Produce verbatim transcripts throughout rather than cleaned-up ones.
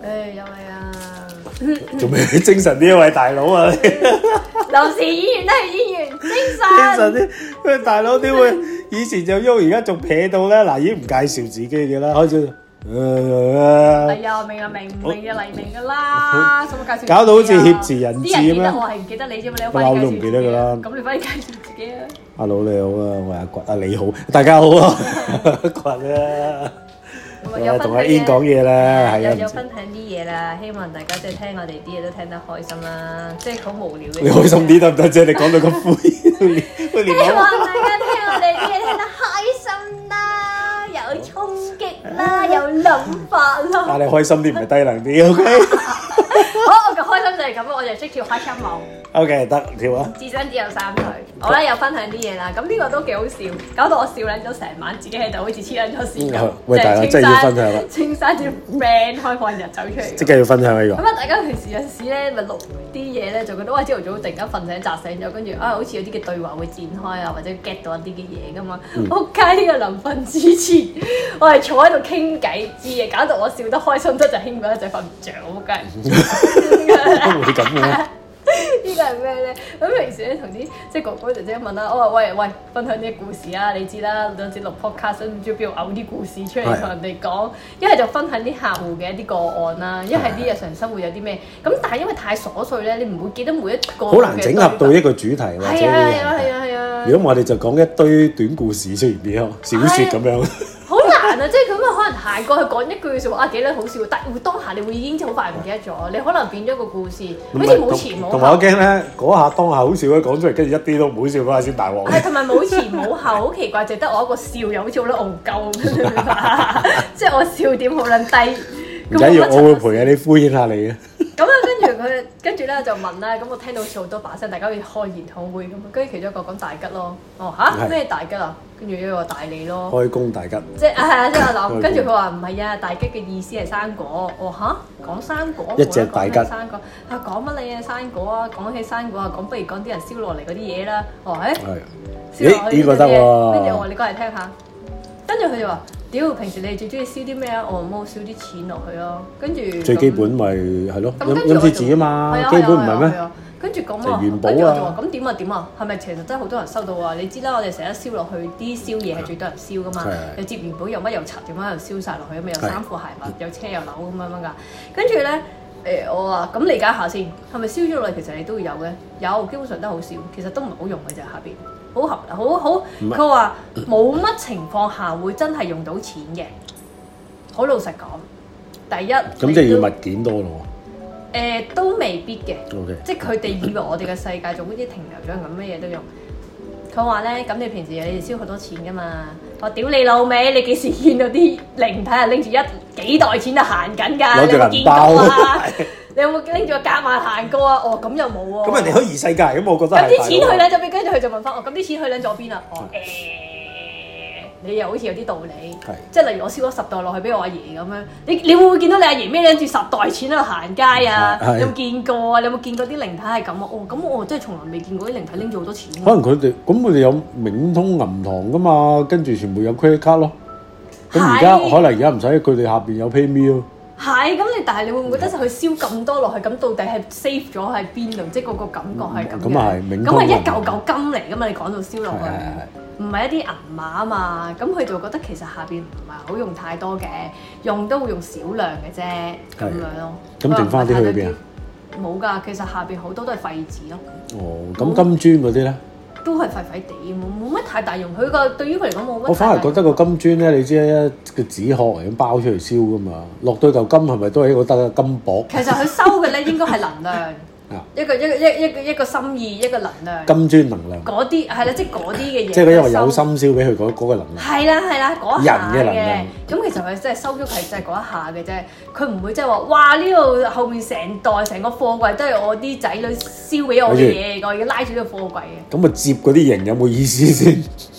誒又係啊！ 做咩精神啲啊，位大佬啊！ 臨時演員都係演員，精神。 精神啲，喂大佬點會？以前就喐，而家仲撇到咧。嗱，已經唔介紹自己嘅啦，開始。 哎呀，明啊明，明嘅黎明㗎啦，使乜介紹？ 搞到好似挾持人質咁樣。啲人記得我係唔記得你啫嘛，你快啲介紹自己。我都唔記得㗎啦。咁你快啲介紹自己啊！ 阿佬你好啊，我係阿掘啊，你好，大家好啊，掘啊！同阿 In 講嘢啦，係啊， 有分享啲嘢啦，希望大家即係聽我哋啲嘢都聽得開心啦，即係好無聊嘅。 你開心啲得唔得啫？你講到咁灰， 希望大家聽我哋啲嘢聽得開心啦，有衝擊啦，有諗法啦。 但係開心啲唔係低能啲 ，OK？ 好，我嘅開心就係咁，我就識跳開心舞。 OK， 得跳啊！ 自身只有三歲，我咧又分享啲嘢啦。咁呢個都幾好笑，搞到我笑撚咗成晚，自己喺度好似黐撚咗線咁。 喂，大家真係要分享啦！ 青山啲 friend 開放日走出嚟， 即係要分享呢個。 咁啊，大家平時有時咧咪錄啲嘢咧，就覺得哇，朝頭早突然間瞓醒扎醒咗，跟住啊，好似有啲嘅對話會展開啊，或者 get 到一啲嘅嘢噶嘛。仆街呢個臨瞓之前，我係坐喺度傾偈知嘅，搞到我笑得開心得就興奮一陣瞓唔着，仆街。 會咁嘅。 呢個係咩咧？咁平時咧同啲即係哥哥姐姐問啦，我話喂喂，分享啲故事啊！你知啦，有時錄 podcast 唔知邊度嘔啲故事出嚟同人哋講，一係就分享啲客戶嘅一啲個案啦，一係啲日常生活有啲咩咁，但係因為太瑣碎咧，你唔會記得每一個。好難整合到一個主題或者。係啊係啊係啊係啊！ 如果我哋就講一堆短故事出現啲小説咁樣。 好難啊！即係咁啊，可能行過去講一句説話啊，幾得好笑，但係當下你會已經好快唔記得咗，你可能變咗個故事，好似冇前冇後。同埋我驚咧，嗰下當下好笑咧，講出嚟跟住一啲都唔好笑嗰下先大鑊。係同埋冇前冇後，好奇怪，就得我一個笑，又好似好撚戇鳩咁，即係我笑點好撚低。唔緊要，我會陪下你敷衍下你嘅。咁啊，跟住佢，跟住咧就問啦。咁我聽到好似好多把聲，大家好似開研討會咁。跟住其中一個講大吉咯。哦吓？咩大吉啊？跟住一個大利咯。開工大吉。即係係啊，即係我諗。跟住佢話唔係啊，大吉嘅意思係生果。哦吓？講生果。一隻大吉。生果。啊講乜你啊生果啊？講起生果啊，講不如講啲人燒落嚟嗰啲嘢啦。哦誒。係。燒落去呢個得喎。跟住我話你過嚟聽下。跟住佢就話。屌，平時你哋最中意燒啲咩啊？我冇燒啲錢落去咯，跟住最基本咪係咯，陰陰貼紙啊嘛，基本唔係咩？跟住咁啊，跟住我就話咁點啊點啊，係咪其實真係好多人收到啊？你知啦，我哋成日燒落去啲燒嘢係最多人燒噶嘛，又接元寶又乜又拆，點樣又燒晒落去咁啊？有衫褲鞋襪，有車有樓咁樣樣噶。跟住咧誒，我話咁理解下先，係咪燒咗落嚟其實你都會有嘅？有，基本上都好少，其實都唔係好用嘅啫下邊。好合好好，佢話冇乜情況下會真係用到錢嘅。好老實講，第一咁即係要物件多咯。誒、呃，都未必嘅。Okay. 即係佢哋以為我哋嘅世界仲好似停留咗咁，咩嘢都用。佢話咧，咁你平時你哋燒好多錢噶嘛？我屌你老味，你幾時見到啲靈體啊拎住一幾袋錢就行緊㗎？你有冇見過啊？你有冇拎住個夾萬行過啊？哦，咁又冇喎。咁人哋可以異世界，咁我覺得咁啲錢去撚咗邊？跟住佢就問翻我，咁啲錢去撚咗邊啊？哦誒，你又好似有啲道理。係。即係例如我燒咗十袋落去俾我阿爺咁樣，你你會唔會見到你阿爺孭拎住十袋錢喺度行街啊？有冇見過啊？你有冇見過啲靈體係咁啊？哦，咁我真係從來未見過啲靈體拎住好多錢。可能佢哋咁，佢哋有冥通銀行噶嘛，跟住全部有 credit card 咯。咁而家可能而家唔使，佢哋下邊有 PayMe 咯。係，咁你但係你會唔會覺得佢燒咁多落去，咁到底係 save 咗喺邊度？即係嗰個感覺係咁嘅。咁啊係，咁係一嚿嚿金嚟噶嘛？你講到燒落去，唔係一啲銀碼啊嘛。咁佢就覺得其實下邊唔係好用太多嘅，用都會用少量嘅啫，咁樣咯。咁剩翻啲去邊啊？冇㗎，其實下邊好多都係廢紙咯。哦，咁金磚嗰啲咧？都係廢廢地，冇冇乜太大用。佢個對於佢嚟講冇乜。我反而覺得個金磚咧，你知咧，個紙殼嚟咁包出嚟燒噶嘛，落到嚿金係咪都係一個得金箔？其實佢收嘅咧應該係能量，一個一個一一個一個心意，一個能量。金磚能量。嗰啲係啦，即係嗰啲嘅嘢。即係因為有心燒俾佢嗰嗰個能量。係啦係啦，嗰一下嘅。人嘅能量。咁其實佢真係收咗係就係嗰一下嘅啫，佢唔會即係話哇呢度後面成袋成個貨櫃都係我啲仔女燒俾我嘅嘢，我而家拉住呢個貨櫃嘅。咁啊接嗰啲型有冇意思先？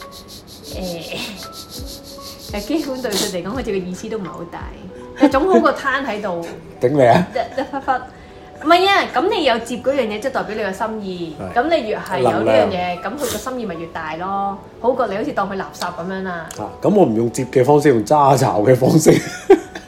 誒，誒基本對佢哋講，好似個意思都唔係好大，誒總好過攤喺度。頂你啊！一一忽忽。唔係啊，咁你有接嗰樣嘢，即係代表你個心意。咁你越係有呢樣嘢，咁佢個心意咪越大咯。好過你好似當佢垃圾咁樣啦。啊，咁我唔用接嘅方式，用揸巢嘅方式。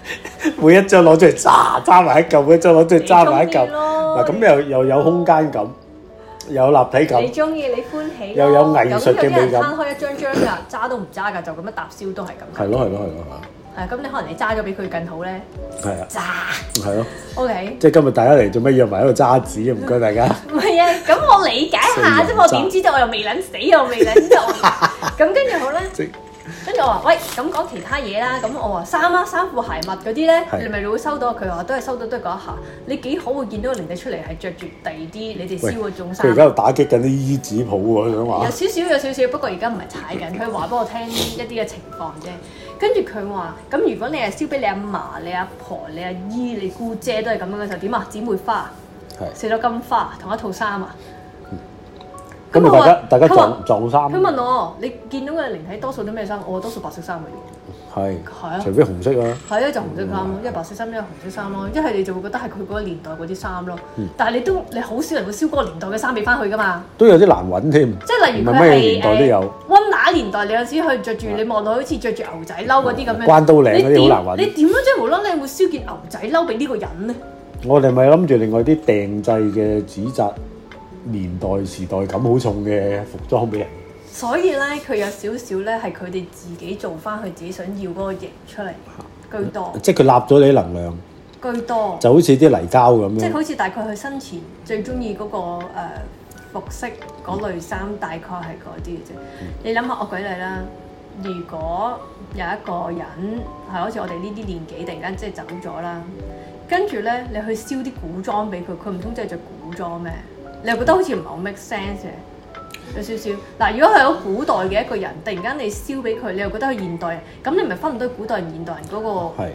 每一張攞出嚟揸揸埋一嚿，每一張攞出嚟揸埋一嚿。嗱咁又又有空間感，有立體感。 你中意你歡喜， 又有藝術嘅美感。 攤開一張張㗎，揸都唔揸㗎，就咁樣搭燒都係咁。 係咯係咯係咯係啊，咁你可能你揸咗比佢更好咧。 係啊， 揸係咯。 O K。即係今日大家嚟做咩約埋喺度揸紙啊？唔該大家。 唔係啊，咁我理解下啫，我點知道我又未撚死，我未撚到。咁跟住好咧。跟住我話喂，咁講其他嘢啦。咁我話衫啊、衫褲鞋襪嗰啲咧，你咪會收到？佢話都係收到，都係嗰一下。你幾好會見到個靈體出嚟係着住第二啲你哋燒嗰種衫。佢而家喺度打擊緊啲衣紙鋪喎，想話。有少少有少少，不過而家唔係踩緊。佢話俾我聽一啲嘅情況啫。跟住佢話：咁如果你係燒俾你阿嫲、你阿婆、你阿姨、你姑姐都係咁樣嘅時候，點啊？姊妹花，四朵金花，同一套衫啊！ 咁咪大家大家撞撞衫。 佢問我：你見到嘅靈體多數都咩衫？我話多數白色衫嘅。係。係啊。除非紅色啊。 係啊，就紅色衫咯，一係白色衫，一係紅色衫咯。一係你就會覺得係佢嗰個年代嗰啲衫咯。但係你都你好少人會燒嗰個年代嘅衫俾翻佢噶嘛。 都有啲難揾添。 即係例如佢係誒溫拿年代，你有時去着住，你望落好似着住牛仔褸嗰啲咁樣。 關刀領嗰啲好難揾。 你點樣即係無啦啦會燒件牛仔褸俾呢個人咧？ 我哋咪諗住另外啲訂製嘅紙紮。年代時代感好重嘅服裝俾人， 所以咧佢有少少咧係佢哋自己做翻佢自己想要嗰個型出嚟，居多。即係佢納咗你啲能量， 居多。就好似啲泥膠咁樣。 即係好似大概佢生前最中意嗰個、呃、服飾嗰類衫，大概係嗰啲嘅啫。嗯、你諗下，我舉例啦，如果有一個人係好似我哋呢啲年紀，突然間即係走咗啦，跟住咧你去燒啲古裝俾佢，佢唔通真係着古裝咩？你又覺得好似唔係好 make sense 嘅，有少少。嗱，如果係好古代嘅一個人，突然間你燒俾佢，你又覺得佢現代人，咁你咪分唔到古代人、現代人嗰個。係。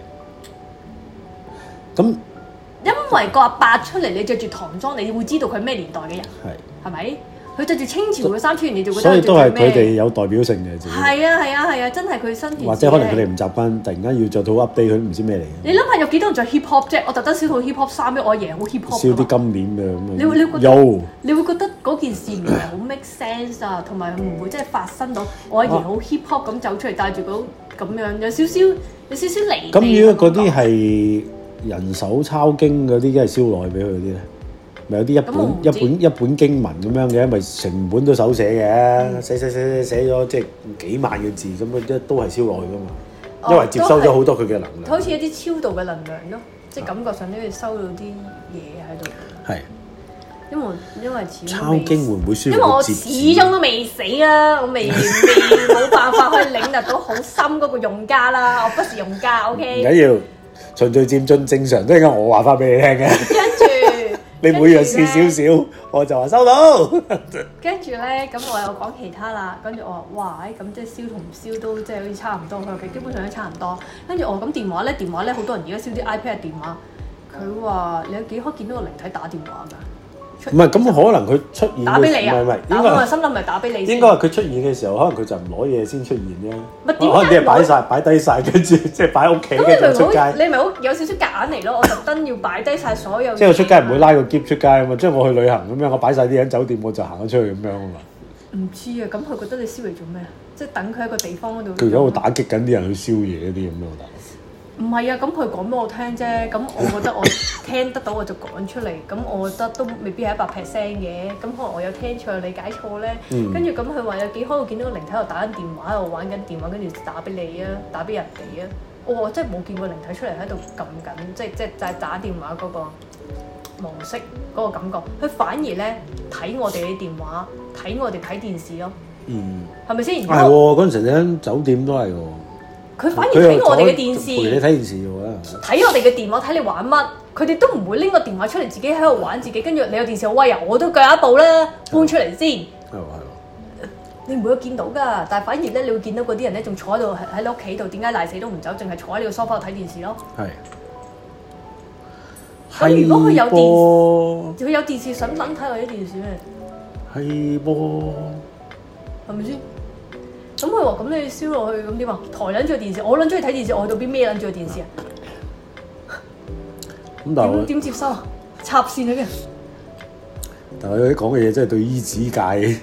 咁，因為個阿伯出嚟，你着住唐裝，你會知道佢咩年代嘅人。係。係咪？佢着住清朝嘅衫出現，你就覺得。所以都係佢哋有代表性嘅自己。 係啊係啊係啊！真係佢身。 或者可能佢哋唔習慣，突然間要着到 update，佢都唔知咩嚟嘅。 你諗下有幾多人着 hip hop 啫？我特登燒套 hip hop 衫俾我阿爺，好 hip hop。 燒啲金鏈嘅咁樣。 你會你會覺得有？ 你會覺得嗰件事唔係好 make sense 啊，同埋唔會真係發生到我阿爺好 hip hop 咁走出嚟，帶住嗰咁樣，有少少有少少離地。 咁如果嗰啲係人手抄經嗰啲，梗係燒落去俾佢嗰啲咧？咪有啲一本一本一本經文咁樣嘅，咪成本都手寫嘅，嗯、寫寫寫寫寫咗即係幾萬個字咁啊，都都係燒落去噶嘛，哦、因為接收咗好多佢嘅能量。 好似一啲超度嘅能量咯，即係感覺上都要收到啲嘢喺度。係。因為因為始終抄經會唔會舒服？ 因為我始終都未死啦，我未未冇辦法可以領略到好深嗰個用家啦，我不是用家 ，OK。 唔緊要，循序漸進，正常都係我話翻俾你聽嘅。跟住。你每樣試少少，我就話收到。 跟住咧，咁我又講其他啦。跟住我話，哇，咁即係燒同唔燒都即係好似差唔多。佢話基本上都差唔多。跟住我話咁電話咧，電話咧好多人而家燒啲 iPad 電話。佢話你有幾可見到個靈體打電話㗎？ 唔係，咁可能佢出現打俾你啊！ 唔係唔係， 應該我心諗咪打俾你。 應該係佢出現嘅時候，可能佢就唔攞嘢先出現啫。 咪點解？ 可能啲嘢擺曬擺低曬，跟住即係擺喺屋企跟住出街。 你咪好有少少夾硬嚟咯！我特登要擺低曬所有。 即係我出街唔會拉個篋出街啊嘛！即係我去旅行咁樣，我擺曬啲嘢喺酒店，我就行咗出去咁樣啊嘛。 唔知啊，咁佢覺得你燒嚟做咩啊？即係等佢喺個地方嗰度。 佢而家會打擊緊啲人去燒嘢嗰啲咁樣，大佬。 唔係啊，咁佢講俾我聽啫，咁我覺得我聽得到我就講出嚟，咁我覺得都未必係一百 percent 嘅，咁可能我有聽錯、理解錯咧。跟住咁佢話有幾可會見到個靈體喺度打緊電話，喺度玩緊電話，跟住打俾你啊，打俾人哋啊。我真係冇見過靈體出嚟喺度撳緊，即係即係就係打電話嗰個模式嗰個感覺。佢反而咧睇我哋嘅電話，睇我哋睇電視咯。嗯，係咪先？ 係喎，嗰陣時喺酒店都係喎。 佢反而睇我哋嘅電視， 陪你睇電視喎。 睇我哋嘅電話，睇你玩乜？佢哋都唔會拎個電話出嚟，自己喺度玩自己。跟住你有電視好威啊，我都鋸一部啦，搬出嚟先。係喎係喎，你唔會見到㗎，但係反而咧，你會見到嗰啲人咧，仲坐喺度喺喺你屋企度，點解賴死都唔走，淨係坐喺你個梳化度睇電視咯。係。咁如果佢有電視，佢有電視，想唔想睇我啲電視咩？係噃。係咪先？咁佢話：咁你燒落去咁點啊？抬撚住個電視，我撚中意睇電視，我去到邊孭撚住個電視啊？咁但係點點接收啊？插線嗰啲。 但係佢啲講嘅嘢真係對醫子界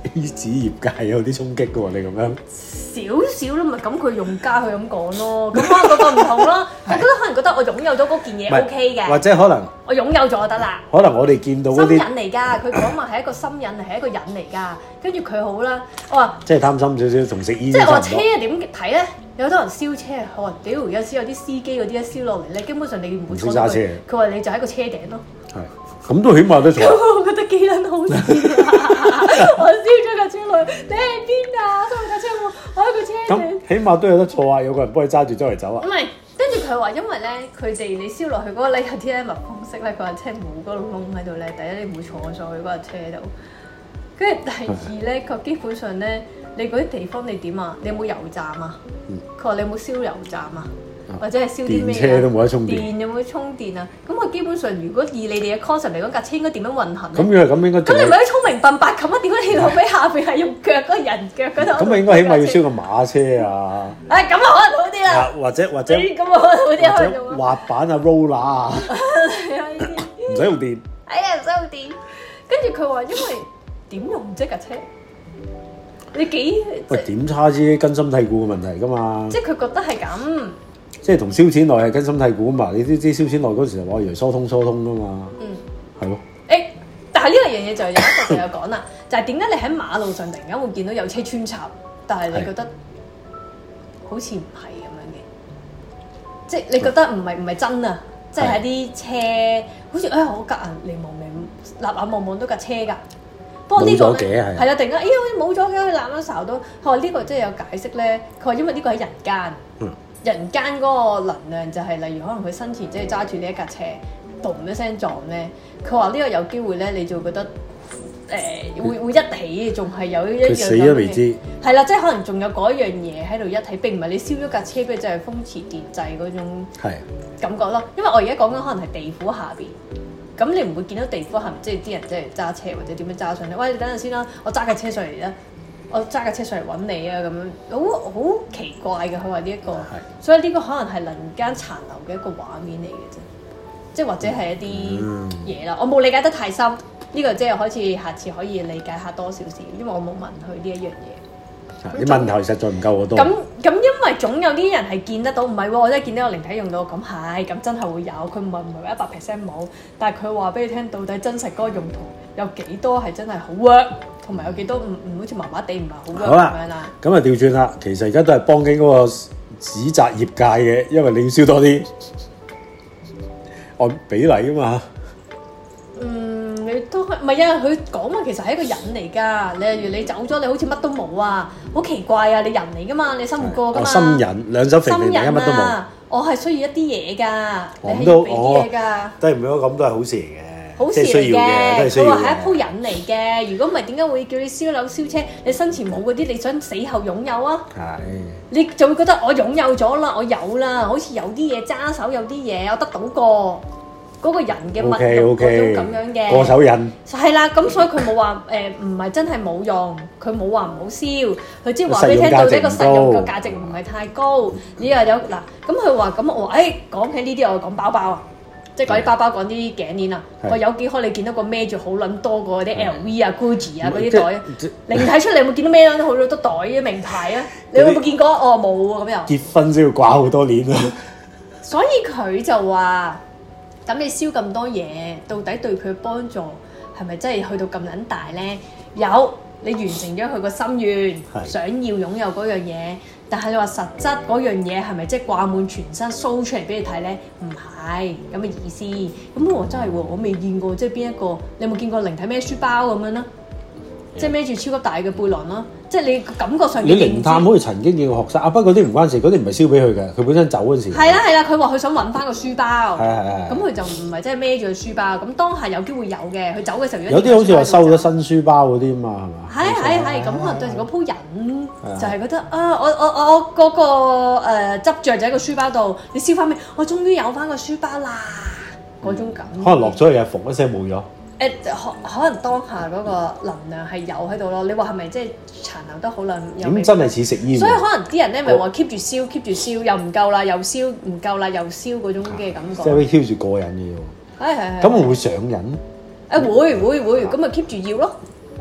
A 紙業界有啲衝擊嘅喎，你咁樣少少咯，咪咁佢用家佢咁講咯，咁可能個個唔同咯。我覺得可能覺得我擁有咗嗰件嘢 O K 嘅， 或者可能我擁有咗就得啦。 可能我哋見到嗰啲心癮嚟㗎，佢講話係一個心癮嚟，係一個癮嚟㗎。跟住佢好啦，我話即係貪心少少，同食煙。 即係我話車點睇咧？有好多人燒車，我話屌有時有啲司機嗰啲一燒落嚟咧，基本上你唔會坐到佢。佢話你就喺個車頂咯。 係，咁都起碼都坐。 我覺得幾撚好笑啊！我燒咗架車落去，你喺邊啊？收架車喎，我喺個車頂。 咁起碼都有得坐啊！有個人幫你揸住周圍走啊。 唔係，跟住佢話因為咧，佢哋你燒落去嗰個咧有啲咧密封式咧，佢話車冇嗰個窿喺度咧，第一你唔會坐上去嗰架車度。跟住第二咧，佢基本上咧，你嗰啲地方你點啊？你有冇油站啊？佢話、嗯、你有冇燒油站啊？或者係燒啲咩啊？電車都冇得充電。 電有冇得充電啊？咁佢基本上，如果以你哋嘅 concept 嚟講，架車應該點樣運行咧？ 咁樣咁應該。咁你咪啲聰明笨白咁啊？點解你老尾下邊係用腳嗰個人腳嗰度？ 咁咪應該起碼要燒個馬車啊！ 誒咁啊，可能好啲啦。 或者或者咁啊，可能好啲啊。 或者滑板啊 roller 啊，唔使用電。 哎呀，唔使用電。跟住佢話，因為點用啫架車？你幾喂點差之根深蒂固嘅問題㗎嘛？ 即係佢覺得係咁。即係同燒錢內係根深蒂固啊嘛！你都知燒錢內嗰時就話以為疏通疏通㗎嘛。嗯，係咯。誒，但係呢樣嘢就有一個朋友講啦，就係點解你喺馬路上突然間會見到有車穿插，但係你覺得好似唔係咁樣嘅，即係你覺得唔係唔係真啊？即係喺啲車好似誒我隔硬嚟望嚟立眼望望到架車㗎。不過呢個咧係啦，突然間咦好似冇咗嘅，佢攬咗睄到。佢話呢個即係有解釋咧。佢話因為呢個喺人間。嗯。人間嗰個能量就係、是、例如可能佢生前即係揸住呢一架車，嘣一聲撞咧，佢話呢個有機會咧，你就會覺得誒、呃、會會一起，仲係有一樣。佢死咗未知。係啦，即係可能仲有嗰一樣嘢喺度一起，並唔係你燒咗架車，俾就係風馳電掣嗰種感覺咯。因為我而家講緊可能係地府下邊，咁你唔會見到地府下邊，即係啲人即係揸車或者點樣揸上嚟。喂，你等陣先啦，我揸架車上嚟啦。我揸架車上嚟揾你啊，咁樣好好奇怪嘅。佢話呢一個，所以呢個可能係人間殘留嘅一個畫面嚟嘅啫，即係或者係一啲嘢啦。我冇理解得太深，呢、呢個即係好似下次可以理解下多少少，因為我冇問佢呢一樣嘢。啲問題實在唔夠我多。咁咁因為總有啲人係見得到，唔係喎，我真係見到個靈體用到，咁係，咁真係會有。佢唔係唔係話一百 percent 冇，但係佢話俾你聽，到底真實嗰個用途有幾多係真係好 work。同埋有幾多唔唔好似麻麻地唔係好咁樣啦。咁啊調轉啦，其實而家都係幫緊嗰個指責業界嘅，因為你要燒多啲按比例啊嘛。嗯，你都唔係啊？佢講話其實係一個人嚟㗎。你例如你走咗，你好似乜都冇啊，好奇怪啊！你人嚟㗎嘛，你生活過㗎嘛。心人兩手肥肥，乜都冇。我係需要一啲嘢㗎，你係要俾啲嘢㗎。都係唔好咁，都係好事嚟嘅。好事嚟嘅，佢話係一鋪癮嚟嘅。如果唔係，點解會叫你燒樓燒車？你生前冇嗰啲，你想死後擁有啊？係。你就會覺得我擁有咗啦，我有啦，好似有啲嘢揸手，有啲嘢我得到過嗰個人嘅物用嗰種咁樣嘅過手癮。係啦，咁所以佢冇話誒唔係真係冇用，佢冇話唔好燒，佢只係話俾你聽到呢個實用嘅價值唔係太高。你又有嗱，咁佢話咁我誒講起呢啲，我講包包啊。即係講啲包包，講啲頸鏈啊！我有幾可你見到個孭住好撚多個啲 L V 啊、Gucci 啊嗰啲袋，靈體出嚟有冇見到孭撚好多袋嘅名牌啊？你有冇見過？哦，冇喎，咁又結婚先要掛好多鏈啊！所以佢就話：咁你燒咁多嘢，到底對佢嘅幫助係咪真係去到咁撚大咧？有，你完成咗佢個心願，想要擁有嗰樣嘢。但係你話實質嗰樣嘢係咪即係掛滿全身 show 出嚟俾你睇咧？唔係咁嘅意思。咁我真係喎，我未見過即係邊一個？你有冇見過靈體孭書包咁樣咧？即係孭住超級大嘅背囊啦。即係你感覺上你靈探好似曾經見過學生啊，不過嗰啲唔關事，嗰啲唔係燒俾佢嘅，佢本身走嗰時。係啦係啦，佢話佢想揾翻個書包。係係係。咁佢就唔係即係孭住個書包。咁當下有機會有嘅，佢走嘅時候有啲好似話收咗新書包嗰啲嘛，係嘛？係係係，咁可能對住嗰鋪人就係覺得啊，我我我嗰個誒執著就喺個書包度，你燒翻咩？我終於有翻個書包啦，嗰種感覺。可能落咗去又縫一聲冇咗。誒可可能當下嗰個能量係有喺度咯，你話係咪即係殘留得好耐？咁真係似食煙。所以可能啲人咧咪話 keep 住燒 keep 住燒，又唔夠啦，又燒唔夠啦，又燒嗰種嘅感覺。即係會 keep 住過癮嘅喎。係係係。咁會唔會上癮？誒會會會，咁咪 keep 住要咯。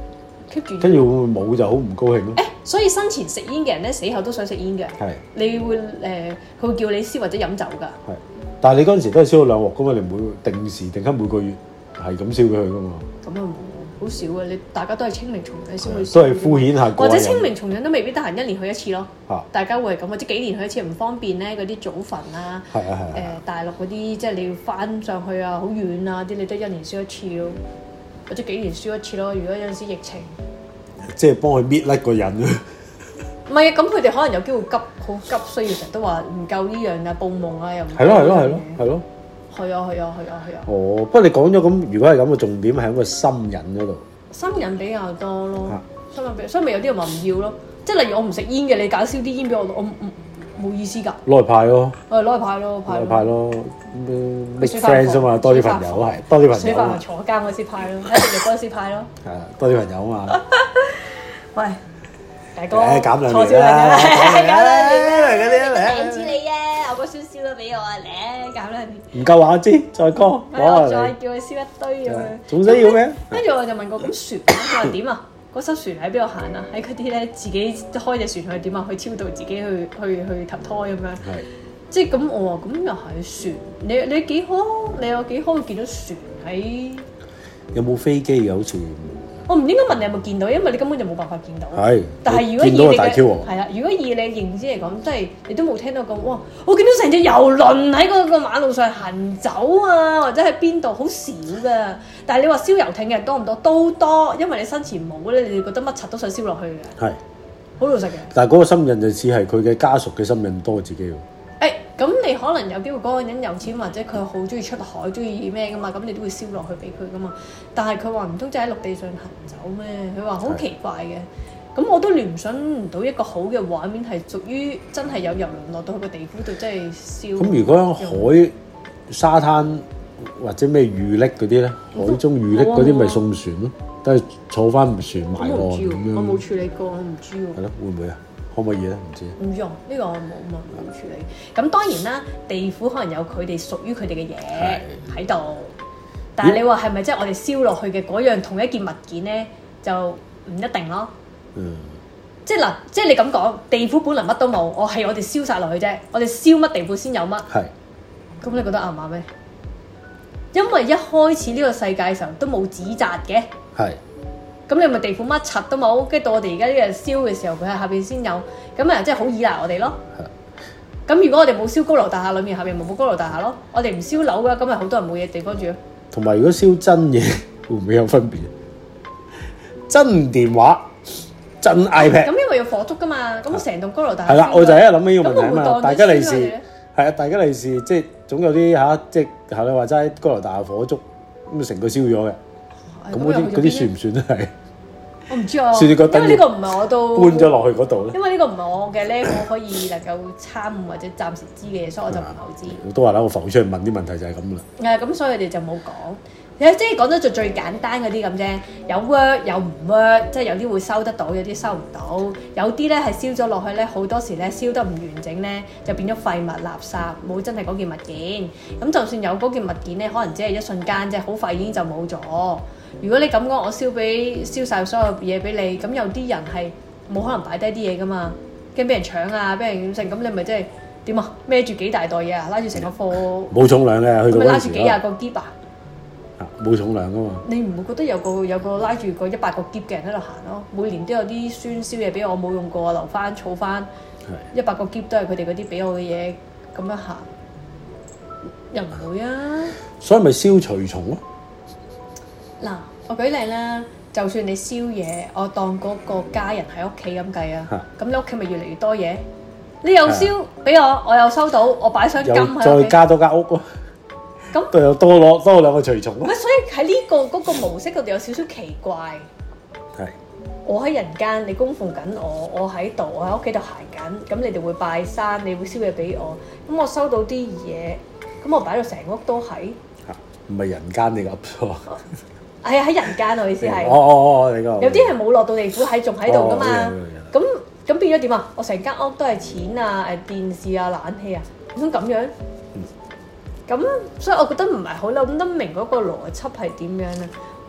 keep 住。 跟住會唔會冇就好唔高興咯？ 誒，所以生前食煙嘅人咧，死後都想食煙嘅。係。你會誒，佢、呃、會叫你燒或者飲酒㗎。係。但係你嗰陣時都係燒咗兩鑊㗎嘛？你唔會定時定刻每個月係咁燒俾佢㗎嘛？咁啊冇，好少啊！你大家都係清明重陽先會燒。都係敷衍下。或者清明重陽都未必得閒一年去一次咯。啊、大家會係咁，或者幾年去一次唔方便咧，嗰啲祖墳啊，誒、啊呃、大陸嗰啲即係你要翻上去啊，好遠啊啲，你都一年燒一次咯，或者幾年燒一次咯。如果有陣時疫情，即係幫佢搣甩個人。唔係啊，咁佢哋可能有機會急，好急需要成日都話唔夠呢樣啊，報夢啊又唔係咯係咯係咯係咯。係啊係啊係啊係啊。哦，不過你講咗咁，如果係咁嘅重點係喺個心癮嗰度。心癮比較多咯，啊、心癮比，所以咪有啲人話唔要咯。即係例如我唔食煙嘅，你搞燒啲煙俾我，我唔冇意思㗎。攞嚟派咯。誒，攞嚟派咯，派咯。派咯。make friends 啊嘛，多啲朋友係，多啲朋友。水飯坐監嗰時派咯，喺食肉嗰時派咯。係啊，多啲朋友啊嘛。喂。大哥，減兩年啦，減兩年嚟嗰啲嚟。唔知你啊，我個燒燒都俾我啊，嚟減兩年。唔夠話知，再講。我再叫佢燒一堆咁樣。仲需要咩？跟住我就問過咁船，佢話點啊？嗰艘船喺邊度行啊？喺嗰啲咧自己開隻船去點啊？去超度自己去去去投胎咁樣。係。即係咁，我話咁又係船。你你幾可？你有幾可會見到船喺？有冇飛機嘅好似？我唔應該問你有冇見到，因為你根本就冇辦法見到。係，但係如果以你嘅係啦，如果以你認知嚟講，即係你都冇聽到咁哇！我見到成隻遊輪喺嗰個馬路上行走啊，或者喺邊度好少㗎。但係你話燒遊艇嘅人多唔多？都多，因為你生前冇咧，你哋覺得乜柒都想燒落去嘅。係，好老實嘅。但係嗰個心癮就似係佢嘅家屬嘅心癮多過自己喎。誒，咁你可能有機會嗰個人有錢，或者佢好中意出海，中意咩噶嘛？咁你都會燒落去俾佢噶嘛？但係佢話唔通就喺陸地上行走咩？佢話好奇怪嘅。咁我都聯想唔到一個好嘅畫面係屬於真係有遊輪落到去個地府度，真係燒。咁如果喺海沙灘或者咩遇溺嗰啲咧，海中遇溺嗰啲咪送船咯，都係坐翻船埋岸咁樣。我冇處理過，我唔知喎。係咯，會唔會啊？可唔可以咧？唔知。唔用呢、呢個我冇冇冇處理。咁當然啦，地府可能有佢哋屬於佢哋嘅嘢喺度，但係你話係咪即係我哋燒落去嘅嗰樣同一件物件咧，就唔一定咯。嗯。即係嗱，即係你咁講，地府本來乜都冇，我係我哋燒晒落去啫。我哋燒乜地府先有乜？係。咁你覺得啱唔啱咩？因為一開始呢個世界嘅時候都冇紙紮嘅。係。咁你咪地府乜柒都冇，跟住到我哋而家呢個燒嘅時候，佢喺下邊先有，咁啊即係好依賴我哋咯。咁如果我哋冇燒高樓大廈，裏面下邊咪冇高樓大廈咯。我哋唔燒樓嘅，咁咪好多人冇嘢地方住咯。同埋如果燒真嘢，會唔會有分別？真電話、真 iPad。咁因為要火燭噶嘛，咁成棟高樓大廈。係啦，我就喺度諗起呢個問題啊嘛。大吉利是係啊，大吉利是即係總有啲嚇，即係學你話齋高樓大廈火燭，咁成個燒咗嘅。咁嗰啲嗰啲算唔算都係？我唔知啊，因為呢個唔係我都搬咗落去嗰度咧。因為呢個唔係我嘅 level 可以能夠參悟或者暫時知嘅嘢，所以我就唔係好知。我都話啦，我浮出去問啲問題就係咁啦。係咁，所以佢哋就冇講。即係講得就最簡單嗰啲咁啫，有 work 有唔 work，即係有啲會收得到，有啲收唔到。有啲咧係燒咗落去咧，好多時咧燒得唔完整咧，就變咗廢物垃圾，冇真係嗰件物件。咁就算有嗰件物件咧，可能只係一瞬間啫，好快已經就冇咗。如果你咁講，我燒俾燒曬所有嘢俾你，咁有啲人係冇可能擺低啲嘢噶嘛，驚俾人搶啊，俾人成咁，你咪即係點啊？孭住幾大袋嘢啊，拉住成個貨冇重量嘅，去到嗰時咪拉住幾廿個篋啊？冇重量噶嘛？你唔會覺得有個有個拉住個一百個篋嘅人喺度行咯？每年都有啲酸燒嘢俾我，冇用過，留翻儲翻，一百個篋都係佢哋嗰啲俾我嘅嘢，咁樣行又唔會啊？所以咪燒隨從咯。嗱，我舉例啦，就算你燒嘢，我當嗰個家人喺屋企咁計啊，咁你屋企咪越嚟越多嘢？你又燒俾我，我又收到，我擺箱金喺屋企，再加多間屋咯。咁都有多攞多兩個隨從咯。所以喺呢個嗰個模式嗰度有少少奇怪。係。我喺人間，你供奉緊我，我喺度，我喺屋企度行緊，咁你哋會拜山，你會燒嘢俾我，咁我收到啲嘢，咁我擺到成屋都係。嚇！唔係人間你噏錯。係啊，喺人間我意思係。哦哦哦，你講。有啲係冇落到地府，喺仲喺度噶嘛？咁咁變咗點啊？我成間屋都係錢啊、誒電視啊、冷氣啊，唔通咁樣？咁所以我覺得唔係好諗得明嗰個邏輯係點樣啊？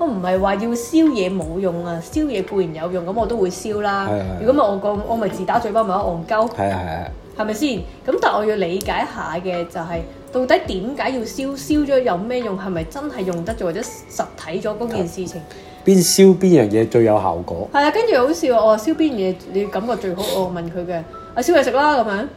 我唔係話要燒嘢冇用啊，燒嘢固然有用，咁我都會燒啦。如果咪我個我咪自打嘴巴咪戇鳩。係啊係啊。係咪先？咁但係我要理解下嘅就係、是、到底點解要燒？燒咗有咩用？係咪真係用得咗或者實體咗嗰件事情？ 邊燒邊樣嘢最有效果？係啊，跟住好笑我話燒邊樣嘢你感覺最好？我問佢嘅，啊燒嘢食啦咁樣。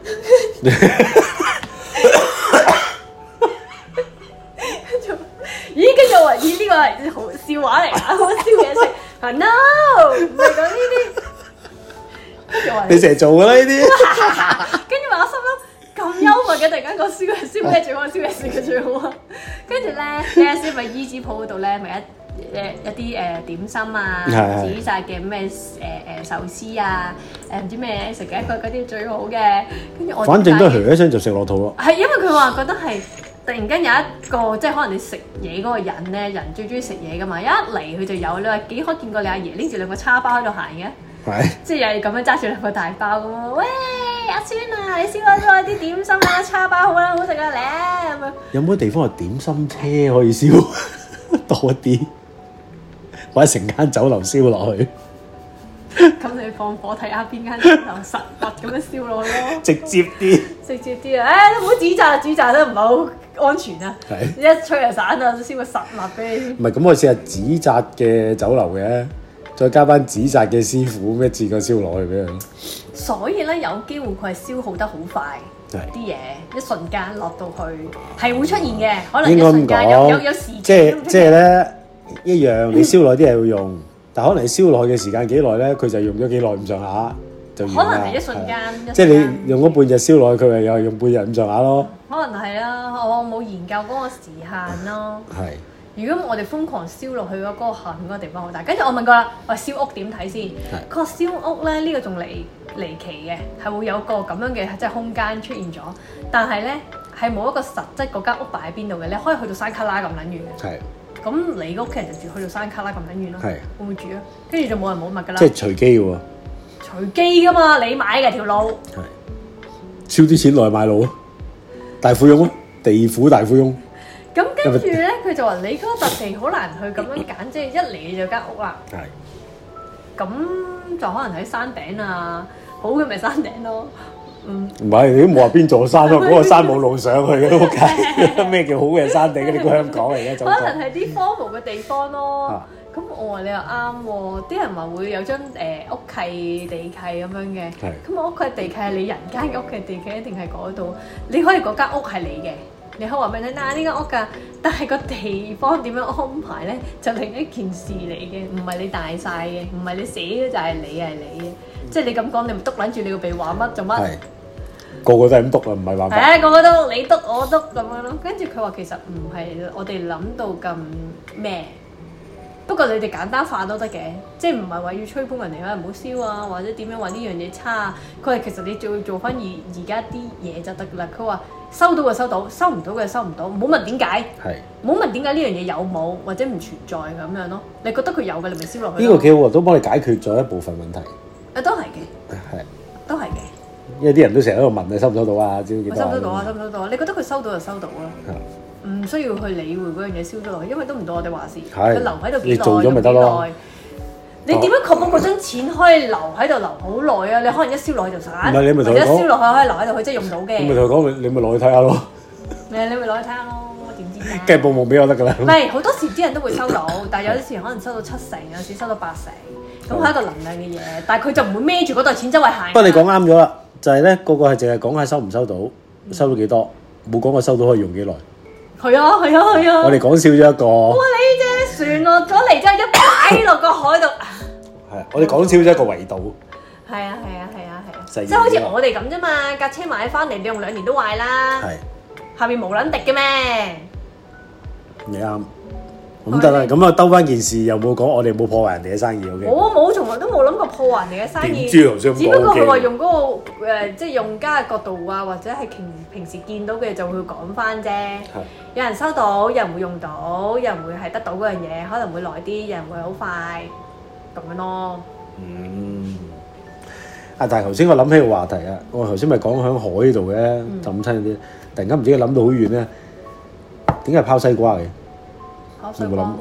跟住，咦？跟住我話咦呢個係好笑話嚟啊！我燒嘢食，啊 no， 唔係講呢啲。 你成日做㗎啦呢啲。 跟住話我心諗咁幽默嘅，突然間講燒嘢燒咩最好，燒嘢食嘅最好啊！跟住咧，你阿師咪衣紙鋪嗰度咧，咪一誒一啲誒點心啊，紙紮嘅咩誒誒壽司啊，誒唔知咩食嘅，佢嗰啲最好嘅。跟住我反正都係一聲就食落肚咯。 係因為佢話覺得係突然間有一個即係可能你食嘢嗰個人咧，人最中意食嘢噶嘛，一嚟佢就有。你話幾可見過你阿爺拎住兩個叉包喺度行嘅？即係又係咁樣揸住兩個大包咁咯，喂阿孫啊，你燒開咗啲點心啊，叉包好啦，好食啊咧咁樣。有冇地方係點心車可以燒多啲，或者成間酒樓燒落去？咁你放火睇下邊間酒樓實物咁樣燒落去咯，直接啲，直接啲啊！誒都唔好紙紮，紙紮都唔係好安全啊，一吹就散啊，燒個實物俾你。唔係咁，我試下紙紮嘅酒樓嘅。再加班紙紮嘅師傅咩自個燒落去俾佢。所以咧有機會佢係消耗得好快，啲嘢一瞬間落到去係會出現嘅，可能一瞬間有有有時間。即係即係咧一樣，你燒耐啲係會用，嗯、但可能你燒耐嘅時間幾耐咧，佢就用咗幾耐咁上下就完啦。可能係一瞬間，即係你用咗半日燒耐，佢咪又係用半日咁上下咯。可能係啦，我冇研究嗰個時限咯。係。如果我哋瘋狂燒落去嗰個下面嗰個地方好大，跟住我問過啦，我燒屋點睇先？佢話燒屋咧呢、呢個仲離離奇嘅，係會有個咁樣嘅即係空間出現咗，但係咧係冇一個實質嗰間屋擺喺邊度嘅，你可以去到山卡拉咁撚遠嘅。係。咁你個屋企人就住去到山卡拉咁撚遠咯。係。會唔會住啊？跟住就冇人冇物㗎啦。即係隨機喎。隨機㗎嘛，你買嘅條路。係。燒啲錢落去買路，大富翁咯，地府大富翁。咁跟住咧，佢就話你嗰個特地好難去咁樣揀，即係一嚟就間屋啦。係。咁就可能喺山頂啊，好嘅咪山頂咯。嗯。唔係，你都冇話邊座山咯，嗰個山冇路上去嘅屋企。咩叫好嘅山頂？你估香港嚟嘅？可能係啲荒蕪嘅地方咯。咁我話你又啱喎，啲人話會有張誒屋契地契咁樣嘅。係。咁我屋契地契係你人間嘅屋契地契，一定係嗰度？你可以嗰間屋係你嘅。你可以話俾你聽，嗱呢間屋㗎，但係個地方點樣安排咧，就另一件事嚟嘅，唔係你大晒嘅，唔係你死咗就係你係你嘅，即係你咁講，你咪篤撚住你個鼻話乜做乜？係個個都係咁篤啊，唔係話。係啊，個個都你篤我篤咁樣咯，跟住佢話其實唔係我哋諗到咁咩，不過你哋簡單化都得嘅，即係唔係話要吹捧人哋啊，唔好燒啊，或者點樣話呢樣嘢差啊？佢話其實你做做翻而而家啲嘢就得㗎啦。佢話收到就收到，收唔到嘅收唔到，唔好問點解，唔好問點解呢樣嘢有冇或者唔存在咁樣咯。你覺得佢有嘅，你咪燒落去。呢個幾好喎，都幫你解決咗一部分問題。啊，都係嘅，係，都係嘅。因為啲人都成日喺度問你收唔收到啊？知唔知？收唔收到啊？收唔收到啊？你覺得佢收到就收到啦。唔需要去理會嗰樣嘢燒咗落去，因為都唔到我哋話事。佢留喺度幾耐？你做咗咪得咯？你點樣確保嗰張錢可以留喺度留好耐啊？你可能一燒落去就散，或者一燒落去可以留喺度，佢真係用到嘅。你咪同佢講，你咪落去睇下咯。你你咪落去睇下咯，點知啫？梗係報夢俾我得㗎啦。唔係好多時啲人都會收到，但係有啲時可能收到七成，有時收到八成，咁係一個能量嘅嘢。但係佢就唔會孭住嗰袋錢周圍行。不過你講啱咗啦，就係咧個個係淨係講下收唔收到，收到幾多，冇講過收到可以用幾耐。係啊係啊係啊！我哋講笑咗一個。哇！你隻船落咗嚟之後，一擺落個海度。係啊！我哋講笑咗一個維度。係啊係啊係啊係啊！即係好似我哋咁啫嘛，架車買翻嚟，你用兩年都壞啦。係。下面無撚敵嘅咩？你啱。咁得啦，咁啊兜翻件事，又冇講我哋冇破壞人哋嘅生意 ，OK？我冇，從來都冇諗過破壞人哋嘅生意。只不過佢話用嗰個誒，即係用家嘅角度啊，或者係平平時見到嘅就會講翻啫。有人收到，有人會用到，有人會係得到嗰樣嘢，可能會耐啲，有人會好快咁樣咯。嗯。啊！但係頭先我諗起個話題啊，我頭先咪講喺海度嘅浸親啲，突然間唔知諗到好遠咧，點解係拋西瓜嘅？有冇諗過啊？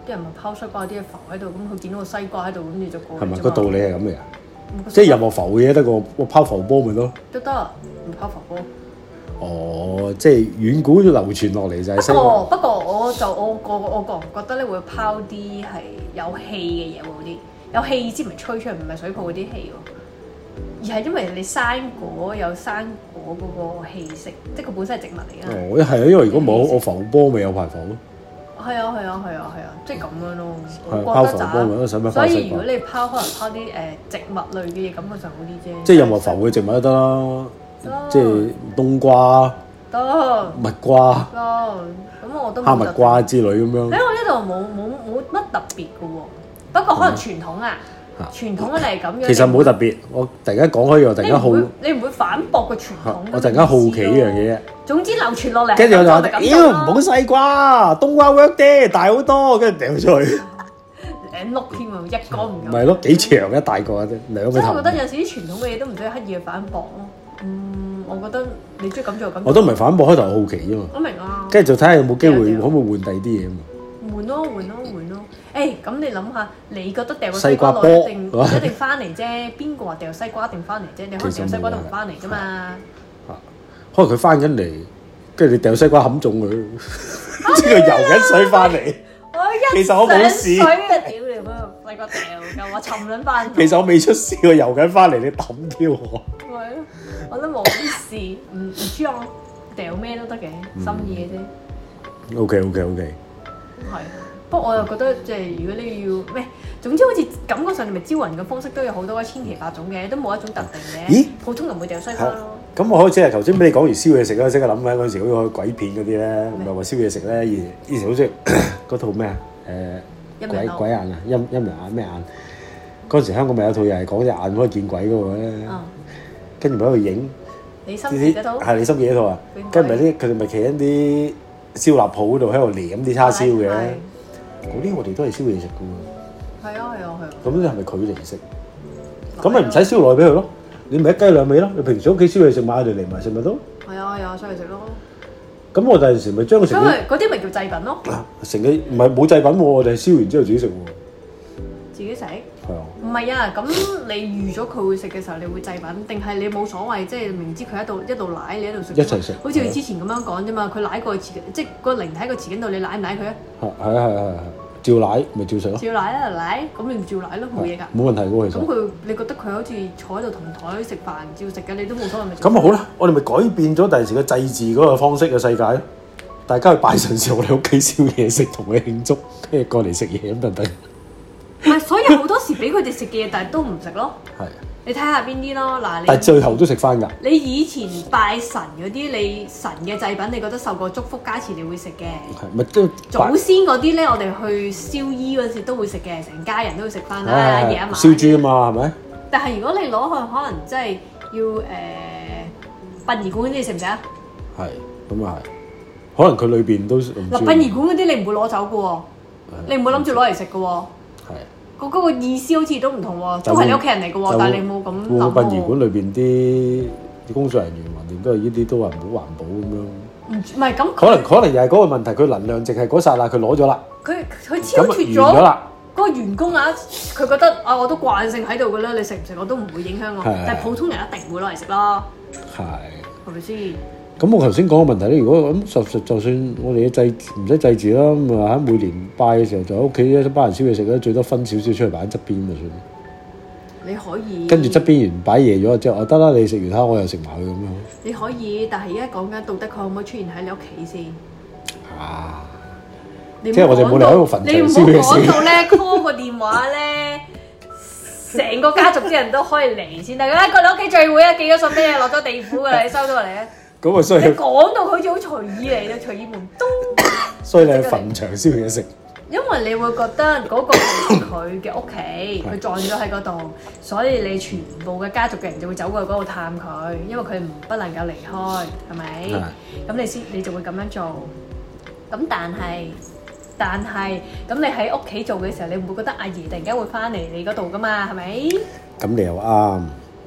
啲人咪拋西瓜，啲嘢浮喺度，咁佢見到個西瓜喺度，咁你就過。 係咪個道理係咁嘅？即係任何浮嘢得個我拋浮波咪咯？ 都得，唔拋浮波。 哦，即係遠古流傳落嚟就係西瓜。 不過不過我就我個我個人覺得咧會拋啲係有氣嘅嘢喎，啲有氣先唔係吹出嚟，唔係水泡嗰啲氣喎。而係因為你生果有生果嗰個氣息，即係佢本身係植物嚟㗎。 哦，係啊，因為如果冇我浮波咪有排浮咯。 係啊係啊係啊係啊，即係咁樣咯。 拋浮波咪使乜？ 所以如果你拋可能拋啲誒植物類嘅嘢，咁佢就好啲啫。 即係任何浮嘅植物都得啦，即係冬瓜、 得蜜瓜、 得，咁我都哈密瓜之類咁樣。 喺我呢度冇冇冇乜特別嘅喎，不過可能傳統啊。傳統嘅嚟咁樣， 其實冇特別。我突然間講開，我突然間好， 你唔會反駁個傳統。 我突然間好奇呢樣嘢。 總之流傳落嚟， 跟住我就話：妖唔好西瓜，冬瓜 work 啲，大好多，跟住掉出去。 兩碌添啊，一個唔夠。 唔係咯，幾長一大個啫，兩個頭。 所以我覺得有時啲傳統嘅嘢都唔需要刻意去反駁咯。嗯，我覺得你中意咁做咁。 我都唔係反駁，開頭好奇啫嘛。 我明啊。跟住就睇下有冇機會，可唔可以換第二啲嘢啊嘛？ 換咯，換咯，換咯。誒，咁你諗下，你覺得掉個西瓜落一定一定翻嚟啫？邊個話掉西瓜一定翻嚟啫？你可能掉西瓜都唔翻嚟啫嘛。 可能佢翻緊嚟，跟住你掉西瓜冚中佢，知佢游緊水翻嚟。其實我冇事。水啊！屌你嗰個西瓜掉㗎，我沉撚翻。其實我未出事，我游緊翻嚟，你抌挑我。 係咯，我都冇事，唔唔知啊，掉咩都得嘅，心意嘅啫。 O K O K O K。 係。不過我又覺得即係如果你要咩，總之好似感覺上你咪招魂嘅方式都有好多千奇百種嘅，都冇一種特定嘅。咦？普通人唔會掉西瓜咯。咁我開始係頭先俾你講完燒嘢食啦，即刻諗緊嗰陣時好似鬼片嗰啲咧，唔係話燒嘢食咧，以以前好似嗰套咩啊？誒鬼鬼眼啊，陰陰陽眼咩眼？嗰陣時香港咪有套又係講隻眼可以見鬼嗰個咧，跟住咪喺度影。你心儀嗰套？係你心儀嗰套啊？跟住咪啲佢哋咪企喺啲燒臘鋪嗰度喺度舐啲叉燒嘅。嗰啲我哋都係燒嘢食噶喎。係啊係啊係啊。咁你係咪佢嚟食？咁咪唔使燒落去俾佢咯。你咪一雞兩味咯。你平時屋企燒嘢食買佢哋嚟埋食咪得？係啊係啊，燒嚟食咯。咁我第陣時咪將佢成。因為嗰啲咪叫祭品咯。成嘅唔係冇祭品喎，我哋係燒完之後自己食喎。自己食？係啊。唔係啊，咁你預咗佢會食嘅時候，你會祭品，定係你冇所謂？即係明知佢喺度一度舐，你喺度食。一齊食。好似佢之前咁樣講啫嘛，佢舐過去，即係個靈體喺個匙羹度，你舐唔舐佢啊？係係係係係，照舐咪照食咯。照舐啊舐，咁你唔照舐咯，冇嘢㗎。冇問題喎，其實。咁佢你覺得佢好似坐喺度同台食飯照食嘅，你都冇所謂咪？咁啊好啦，我哋咪改變咗第陣時嘅祭祀嗰個方式嘅世界咯。大家去拜神時，我哋屋企燒嘢食，同佢慶祝，跟住過嚟食嘢咁就得。唔係，所以好多時俾佢哋食嘅嘢，但係都唔食咯。係。你睇下邊啲咯，嗱你。但係最後都食翻㗎。你以前拜神嗰啲，你神嘅祭品，你覺得受過祝福加持，你會食嘅。係咪都？祖先嗰啲咧，我哋去燒衣嗰時都會食嘅，成家人都會食翻啦，夜一晚。燒豬啊嘛，係咪？但係如果你攞去，可能真係要誒殯儀館嗰啲，你食唔食啊？係，咁啊係。可能佢裏邊都嗱殯儀館嗰啲，你唔會攞走嘅喎，你唔會諗住攞嚟食嘅喎。個嗰個意思好似都唔同喎，都係你屋企人嚟嘅喎，但係你冇咁諗喎。殯儀館裏邊啲工作人員橫掂都係呢啲都話唔好環保咁樣。唔唔係咁，可能可能又係嗰個問題，佢能量淨係嗰剎那佢攞咗啦。佢佢超脫咗嗰個員工啊，佢覺得啊我都慣性喺度嘅啦，你食唔食我都唔會影響我，但係普通人一定會攞嚟食咯。係係咪先？咁我頭先講嘅問題咧，如果咁就就算我哋嘅祭唔使祭祀啦，咁啊喺每年拜嘅時候就喺屋企一班人燒嘢食咧，最多分少少出去擺喺側邊就算。你可以跟住側邊完擺夜咗之後，得啦，你食完蝦我又食埋佢咁樣。你可以，但係而家講緊道德，佢可唔可以出現喺你屋企先？啊！即係我哋冇嚟喺度墳場燒嘢食。你唔好講到咧 call 個電話咧，成個家族啲人都可以嚟先得。啊，過你屋企聚會啊，寄咗信俾你，落咗地府㗎啦，你收咗嚟啊！咁啊，所以你講到好似好隨意嚟嘅，隨意門咚。所以你去墳場燒嘢食。因為你會覺得嗰個係佢嘅屋企，佢葬咗喺嗰度，所以你全部嘅家族嘅人就會走過去嗰度探佢，因為佢唔不能夠離開，係咪？咁你先你就會咁樣做。咁但係但係咁你喺屋企做嘅時候，你唔會覺得阿爺突然間會翻嚟你嗰度噶嘛？係咪？咁你又啱。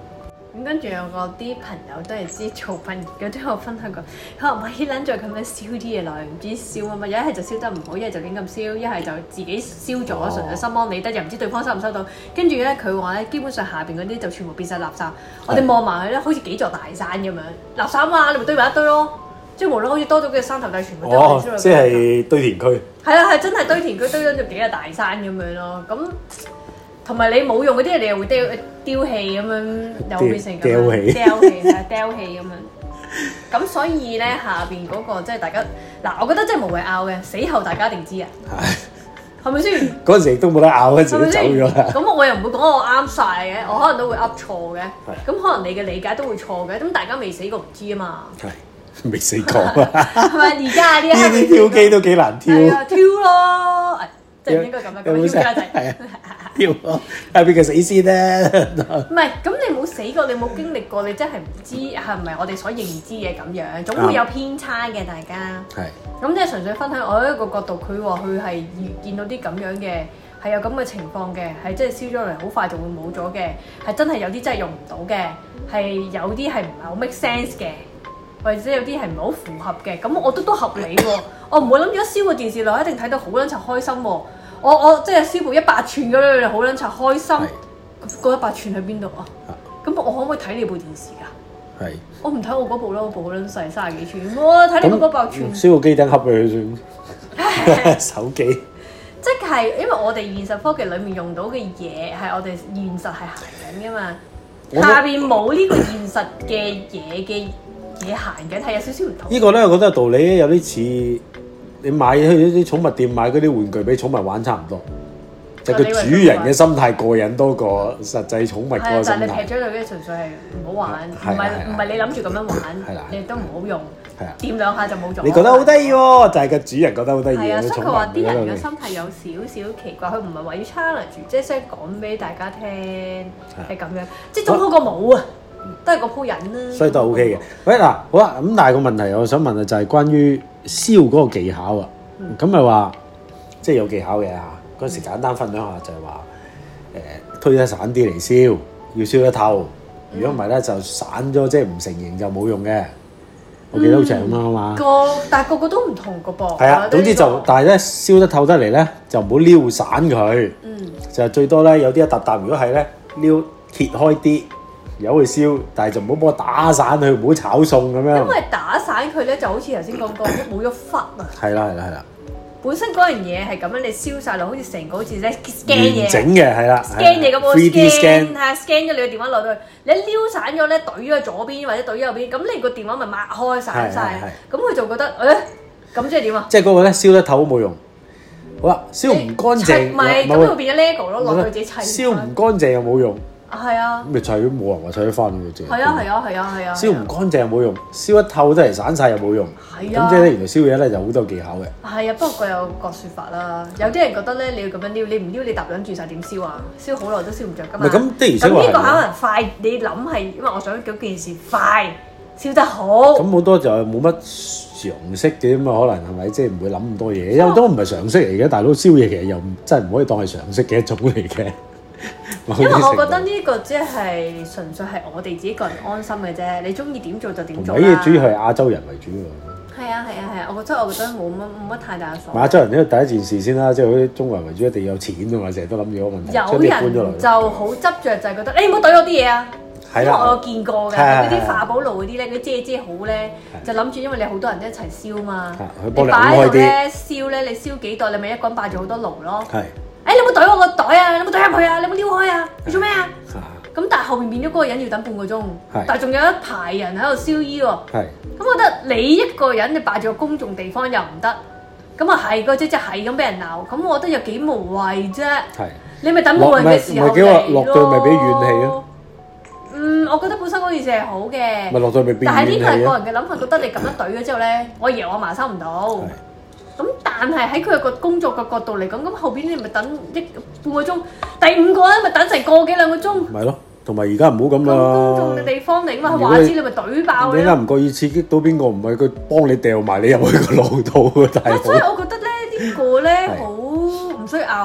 咁跟住有個啲朋友都係知做殯儀嘅，都有分享過。佢話：咪撚再咁樣燒啲嘢落去，唔知燒乜乜，一係就燒得唔好，一係就亂咁燒，一係就自己燒咗，純粹心安理得，又唔知對方收唔收到。跟住咧，佢話咧，基本上下邊嗰啲就全部變晒垃圾。我哋望埋佢咧，好似幾座大山咁樣，垃圾啊嘛，你咪堆埋一堆咯。即係無論好似多咗嘅山頭地，全部都係燒落去。 即係堆填區。係啦，係真係堆填區，堆咗咗幾個大山咁樣咯。咁同埋你冇用嗰啲，你又會丟丟棄咁樣，又會變成咁樣丟棄，丟棄係丟棄咁樣。咁所以咧，下邊嗰個即係大家嗱，我覺得真係無謂拗嘅，死後大家一定知啊。係，係咪先？嗰陣時亦都冇得拗，嗰陣時都走咗啦。 咁我又唔會講我啱晒嘅，我可能都會噏錯嘅。咁可能你嘅理解都會錯嘅。咁大家未死過唔知啊嘛。 係，未死過啊。 係咪而家啲？ 呢啲挑機都幾難挑。 係啊，挑咯。即係應該咁樣咁樣挑家仔。係啊。 挑咯，係邊個死先咧？ 唔係，咁你冇死過，你冇經歷過，你真係唔知係唔係我哋所認知嘅咁樣，總會有偏差嘅，大家。係。咁即係純粹分享我一個角度，佢話佢係見到啲咁樣嘅，係有咁嘅情況嘅，係即係燒咗嚟好快就會冇咗嘅，係真係有啲真係用唔到嘅，係有啲係唔係好 make sense 嘅，或者有啲係唔係好符合嘅，咁我覺得都合理喎。我唔會諗住一燒個電視落，一定睇到好撚柒開心喎。我我即係燒部一百寸咁樣，好撚柒開心。嗰一百寸喺邊度啊？咁我可唔可以睇你部電視㗎？係。我唔睇我嗰部啦，我部好撚細，三十幾寸。我睇你嗰百寸。 燒個機頂盒俾佢算。手機。 即係因為我哋現實科技裡面用到嘅嘢係我哋現實係行緊㗎嘛，下邊冇呢個現實嘅嘢嘅嘢行緊，係有少少唔同。呢個咧，我覺得道理有啲似。你買去啲寵物店買嗰啲玩具俾寵物玩差唔多，就係個主人嘅心態過癮多過實際寵物嗰個心態。 但係你劈咗佢嘅純粹係唔好玩，唔係唔係你諗住咁樣玩，你亦都唔好用，掂兩下就冇咗。 你覺得好得意喎，就係個主人覺得好得意。係啊， 所以佢話啲人嘅心態有少少奇怪，佢唔係話要 challenge，即係想講俾大家聽係咁樣，即係總好過冇啊。都係嗰鋪人啦， 所以都 OK 嘅。喂嗱，好啦，咁但係個問題，我想問啊，就係關於燒嗰個技巧啊。咁咪話即係有技巧嘅嚇。嗰陣時簡單分享下就係話，誒推得散啲嚟燒，要燒得透。如果唔係咧，就散咗，即係唔成形就冇用嘅。我記得好似係咁樣啊嘛。個但係個個都唔同個噃。 係啊，總之就但係咧燒得透得嚟咧，就唔好撩散佢。嗯。就最多咧有啲一笪笪，如果係咧撩揭開啲。有去燒，但係就唔好幫我打散佢，唔好炒餸咁樣。 因為打散佢咧，就好似頭先講過，冇咗忽啊。係啦係啦係啦。 本身嗰樣嘢係咁樣，你燒晒落，好似成個好似咧 scan 嘢。 完整嘅係啦。 scan 嘢咁我 scan 係 scan 咗你個電話落去，你一撩散咗咧，懟咗左邊或者懟咗右邊，咁你個電話咪擘開散晒。咁佢就覺得誒，咁即係點啊？即係嗰個咧燒得透都冇用。好啦，燒唔乾淨。 唔係，咁佢變咗 lego 咯，落去自己砌。 燒唔乾淨又冇用。 係啊， 咁咪砌都冇人話砌得翻嘅啫。 係啊係啊係啊係啊！ 燒唔乾淨又冇用，燒一透都係散晒又冇用。係啊，咁即係咧，原來燒嘢咧就好多技巧嘅。 係啊，不過各有各説法啦。有啲人覺得咧，你要咁樣撩，你唔撩你揼撚住晒點燒啊？燒好耐都燒唔着㗎嘛。 唔係咁的而且確。 咁呢個可能快，你諗係因為我想嗰件事快燒得好。 咁好多就冇乜常識嘅咁啊，可能係咪即係唔會諗咁多嘢？因為都唔係常識嚟嘅，大佬燒嘢其實又真係唔可以當係常識嘅一種嚟嘅。 因為我覺得呢個只係純粹係我哋自己個人安心嘅啫，你中意點做就點做啦。 呢個主要係亞洲人為主喎。 係啊係啊係啊，我覺得我覺得冇乜冇乜太大嘅所謂。 亞洲人呢個第一件事先啦，即係好似中國人為主，一定要有錢㗎嘛，成日都諗住個問題。 有人就好執着，就係覺得你唔好懟我啲嘢啊！因為我有見過嘅嗰啲化寶爐嗰啲咧，嗰啲遮遮好咧，就諗住因為你好多人一齊燒嘛，你擺喺度咧燒咧，你燒幾袋，你咪一個人霸住好多爐咯。係。誒，你有冇懟我個袋啊？你有冇懟入去啊？你有冇撩開啊？你做咩啊？咁但係後面變咗嗰個人要等半個鐘，但係仲有一排人喺度燒衣喎。係。咁我覺得你一個人你霸住個公眾地方又唔得，咁啊係個姐姐係咁俾人鬧，咁我覺得又幾無謂啫。係。你咪等冇人嘅時候嚟咯。落對咪俾怨氣咯。嗯，我覺得本身嗰件事係好嘅。咪落對咪變怨氣咯。但係呢個係個人嘅諗法，覺得你咁樣懟咗之後咧，我爺我嫲收唔到。咁但係喺佢個工作嘅角度嚟講，咁後邊你咪等一半個鐘，第五個咧咪等成個幾兩個鐘。咪咯，同埋而家唔好咁啦。公眾嘅地方嚟嘛，話知你咪懟爆你。點解唔覺意刺激到邊個？唔係佢幫你掉埋你入去個腦度嘅大佬。所以我覺得咧呢個咧好唔需要拗，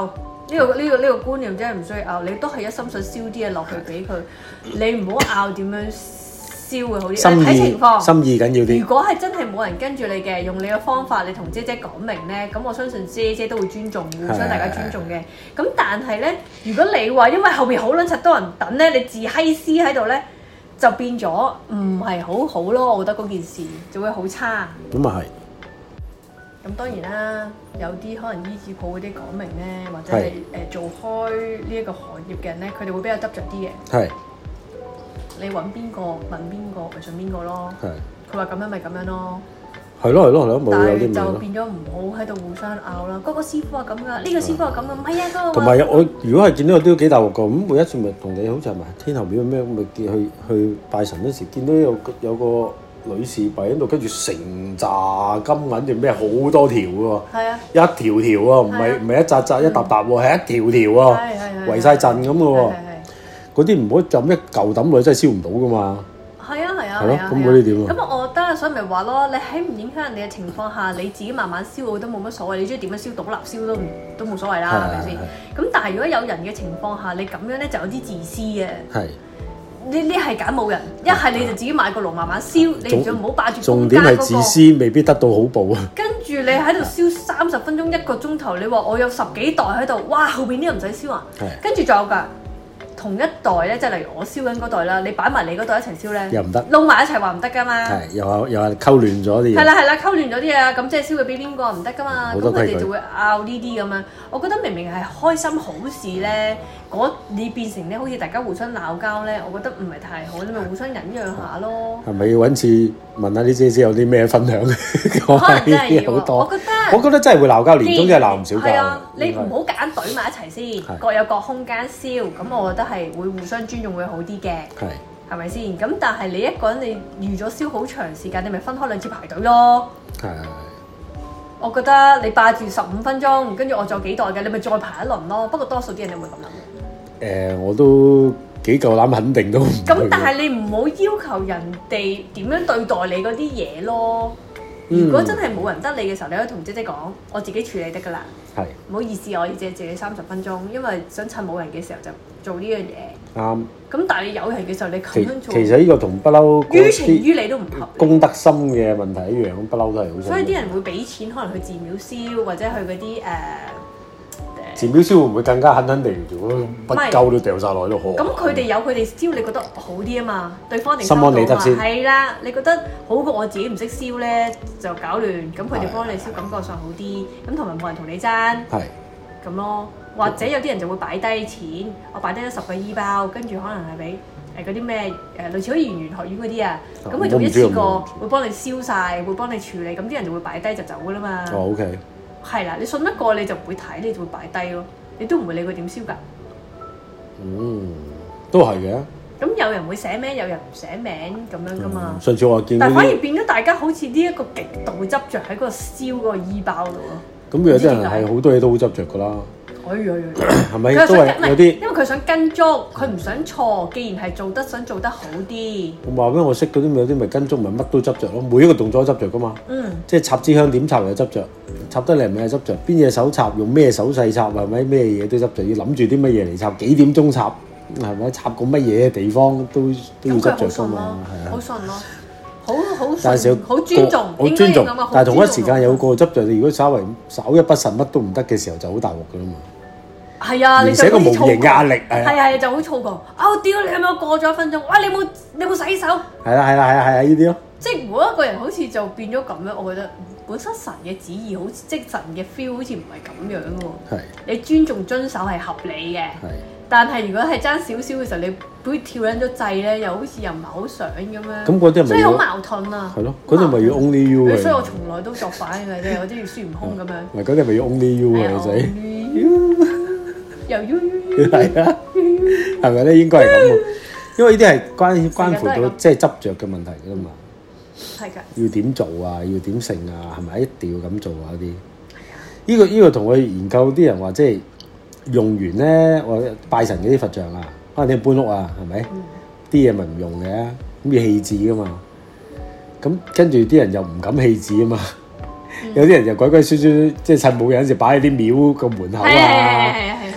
呢個呢個呢個觀念真係唔需要拗，你都係一心想燒啲嘢落去俾佢，你唔好拗點樣燒會好啲。睇情況， 心意緊要啲。 如果係真係冇人跟住你嘅，用你嘅方法，你同姐姐講明咧，咁我相信姐姐都會尊重，互相大家尊重嘅。咁但係咧，如果你話因為後邊好撚柒多人等咧，你自閪絲喺度咧，就變咗唔係好好咯。我覺得嗰件事就會好差。 咁啊係。 咁當然啦，有啲可能醫治鋪嗰啲講明咧，或者係誒、呃、做開呢一個行業嘅人咧，佢哋會比較執着啲嘅。係。你揾邊個問邊個，咪信邊個咯。係。佢話咁樣咪咁樣咯。係咯係咯係咯，冇有啲咩咯。但係就變咗唔好喺度互相拗啦。嗰、嗰個師傅話咁噶，呢、呢個師傅話咁噶，唔係啊嗰個。同埋我如果係見到都幾大鑊㗎，咁每一次咪同你好似係咪天后廟咩咪見去去拜神嗰時，見到有有個女士跪喺度，跟住成紮金銀定咩好多條喎，係啊，一條條喎，唔係唔係一紮紮一沓沓喎，係一條條喎，圍晒陣咁嘅喎，嗰啲唔好就咁一嚿抌落去，真係燒唔到噶嘛。係啊係啊係咯，咁嗰啲點啊？咁我覺得所以咪話咯，你喺唔影響人哋嘅情況下，你自己慢慢燒我都冇乜所謂，你中意點樣燒倒立燒都都冇所謂啦，係咪先？咁但係如果有人嘅情況下，你咁樣咧就有啲自私嘅。係。呢呢係揀冇人，一係你就自己買個爐慢慢燒，你就唔好霸住中間嗰個。重點係自私，未必得到好報啊！跟住你喺度燒三十分鐘一個鐘頭，你話我有十幾袋喺度，哇！後邊啲人唔使燒啊！跟住仲有㗎，同一袋咧，即係例如我燒緊嗰袋啦，你擺埋你嗰袋一齊燒咧，又唔得，撈埋一齊話唔得㗎嘛。係，又話又話溝亂咗啲嘢。係啦係啦，溝亂咗啲嘢，咁即係燒佢俾邊個唔得㗎嘛？咁佢哋就會拗呢啲咁樣。我覺得明明係開心好事咧。嗰你變成咧，好似大家互相鬧交咧，我覺得唔係太好，你咪互相忍讓下咯。係咪要揾次問下啲姐姐有啲咩分享？可能真係要好多。我覺得我覺得真係會鬧交，年中真係鬧唔少交。係啊，你唔好夾硬懟埋一齊先，各有各空間燒，咁我覺得係會互相尊重會好啲嘅。係係咪先？咁但係你一個人你預咗燒好長時間，你咪分開兩次排隊咯。係。我覺得你霸住十五分鐘，跟住我仲有幾袋嘅，你咪再排一輪咯。不過多數啲人你會咁諗。誒、呃，我都幾夠膽肯定都唔會。咁但係你唔好要求人哋點樣對待你嗰啲嘢咯。如果真係冇人得你嘅時候，你可以同姐姐講，我自己處理得㗎啦。係。唔好意思，我要借借你三十分鐘，因為想趁冇人嘅時候就做呢樣嘢。啱。咁但係你有人嘅時候，你咁樣做。其實呢個同不嬲。於情於理都唔合。公德心嘅問題一樣，不嬲都係好。所以啲人會俾錢，可能去寺廟燒，或者去嗰啲誒。寺廟燒會唔會更加狠狠地做？不夠都掉晒落去都好。咁佢哋有佢哋燒，你覺得好啲啊嘛？對方定心安理得先。係啦，你覺得好過我自己唔識燒咧，就搞亂。咁佢哋幫你燒，感覺上好啲。咁同埋冇人同你爭。係。咁咯，或者有啲人就會擺低錢，我擺低咗十個衣包，跟住可能係俾誒嗰啲咩誒類似好似圓玄學院嗰啲啊。咁佢做一次過會幫你燒晒，會幫你處理，咁啲人就會擺低就走噶啦嘛。哦 ，OK。係啦，你信得過你就唔會睇，你就會擺低咯，你都唔會理佢點燒㗎。嗯，都係嘅。咁有人會寫名，有人唔寫名咁樣㗎嘛。上次我見，但反而變咗大家好似呢一個極度執着喺嗰個燒嗰個衣包度咯。咁有啲人係好多嘢都好執着㗎啦。哎呀呀！係咪都係有啲？因為佢想跟足，佢唔想錯。既然係做得想做得好啲，我話俾我識嗰啲咪有啲咪跟足，咪乜都執着咯。每一個動作都執着㗎嘛。嗯。即係插支香點插又執着，插得嚟咪係執着。邊隻手插用咩手勢插係咪咩嘢都執着，要諗住啲乜嘢嚟插，幾點鐘插係咪插個乜嘢地方都都要執着㗎嘛。係啊。好順咯，好好順，好尊重，好尊重。但係同一時間有個執着，你如果稍為稍一不慎乜都唔得嘅時候，就好大鑊㗎啦嘛。係啊，你就好似無形壓力，係係就好燥過。哦，屌你係咪過咗一分鐘？哇！你冇你冇洗手？係啦係啦係啊係啊，呢啲咯。即係每一個人好似就變咗咁樣，我覺得本身神嘅旨意好似即神嘅 feel 好似唔係咁樣喎。係。你尊重遵守係合理嘅。係。但係如果係爭少少嘅時候，你會跳撚咗掣咧，又好似又唔係好想咁樣。咁嗰啲係咪？所以好矛盾啊。係咯，嗰啲咪要 only you 嘅。所以我從來都作反嘅啫，我啲要孫悟空咁樣。唔係嗰啲咪要 only you 嘅仔。又悠悠悠，係啊，係咪咧？應該係咁喎，因為呢啲係關關乎到即係執着嘅問題㗎嘛。係㗎。要點做啊？要點成啊？係咪一定要咁做啊？嗰啲。係啊。呢個呢個同我研究啲人話，即係用完咧，我拜神嗰啲佛像啊，可能你搬屋啊，係咪？啲嘢咪唔用嘅，咁要棄置㗎嘛。咁跟住啲人又唔敢棄置啊嘛。有啲人就鬼鬼祟祟，即係趁冇人時擺喺啲廟個門口啊。係係係係。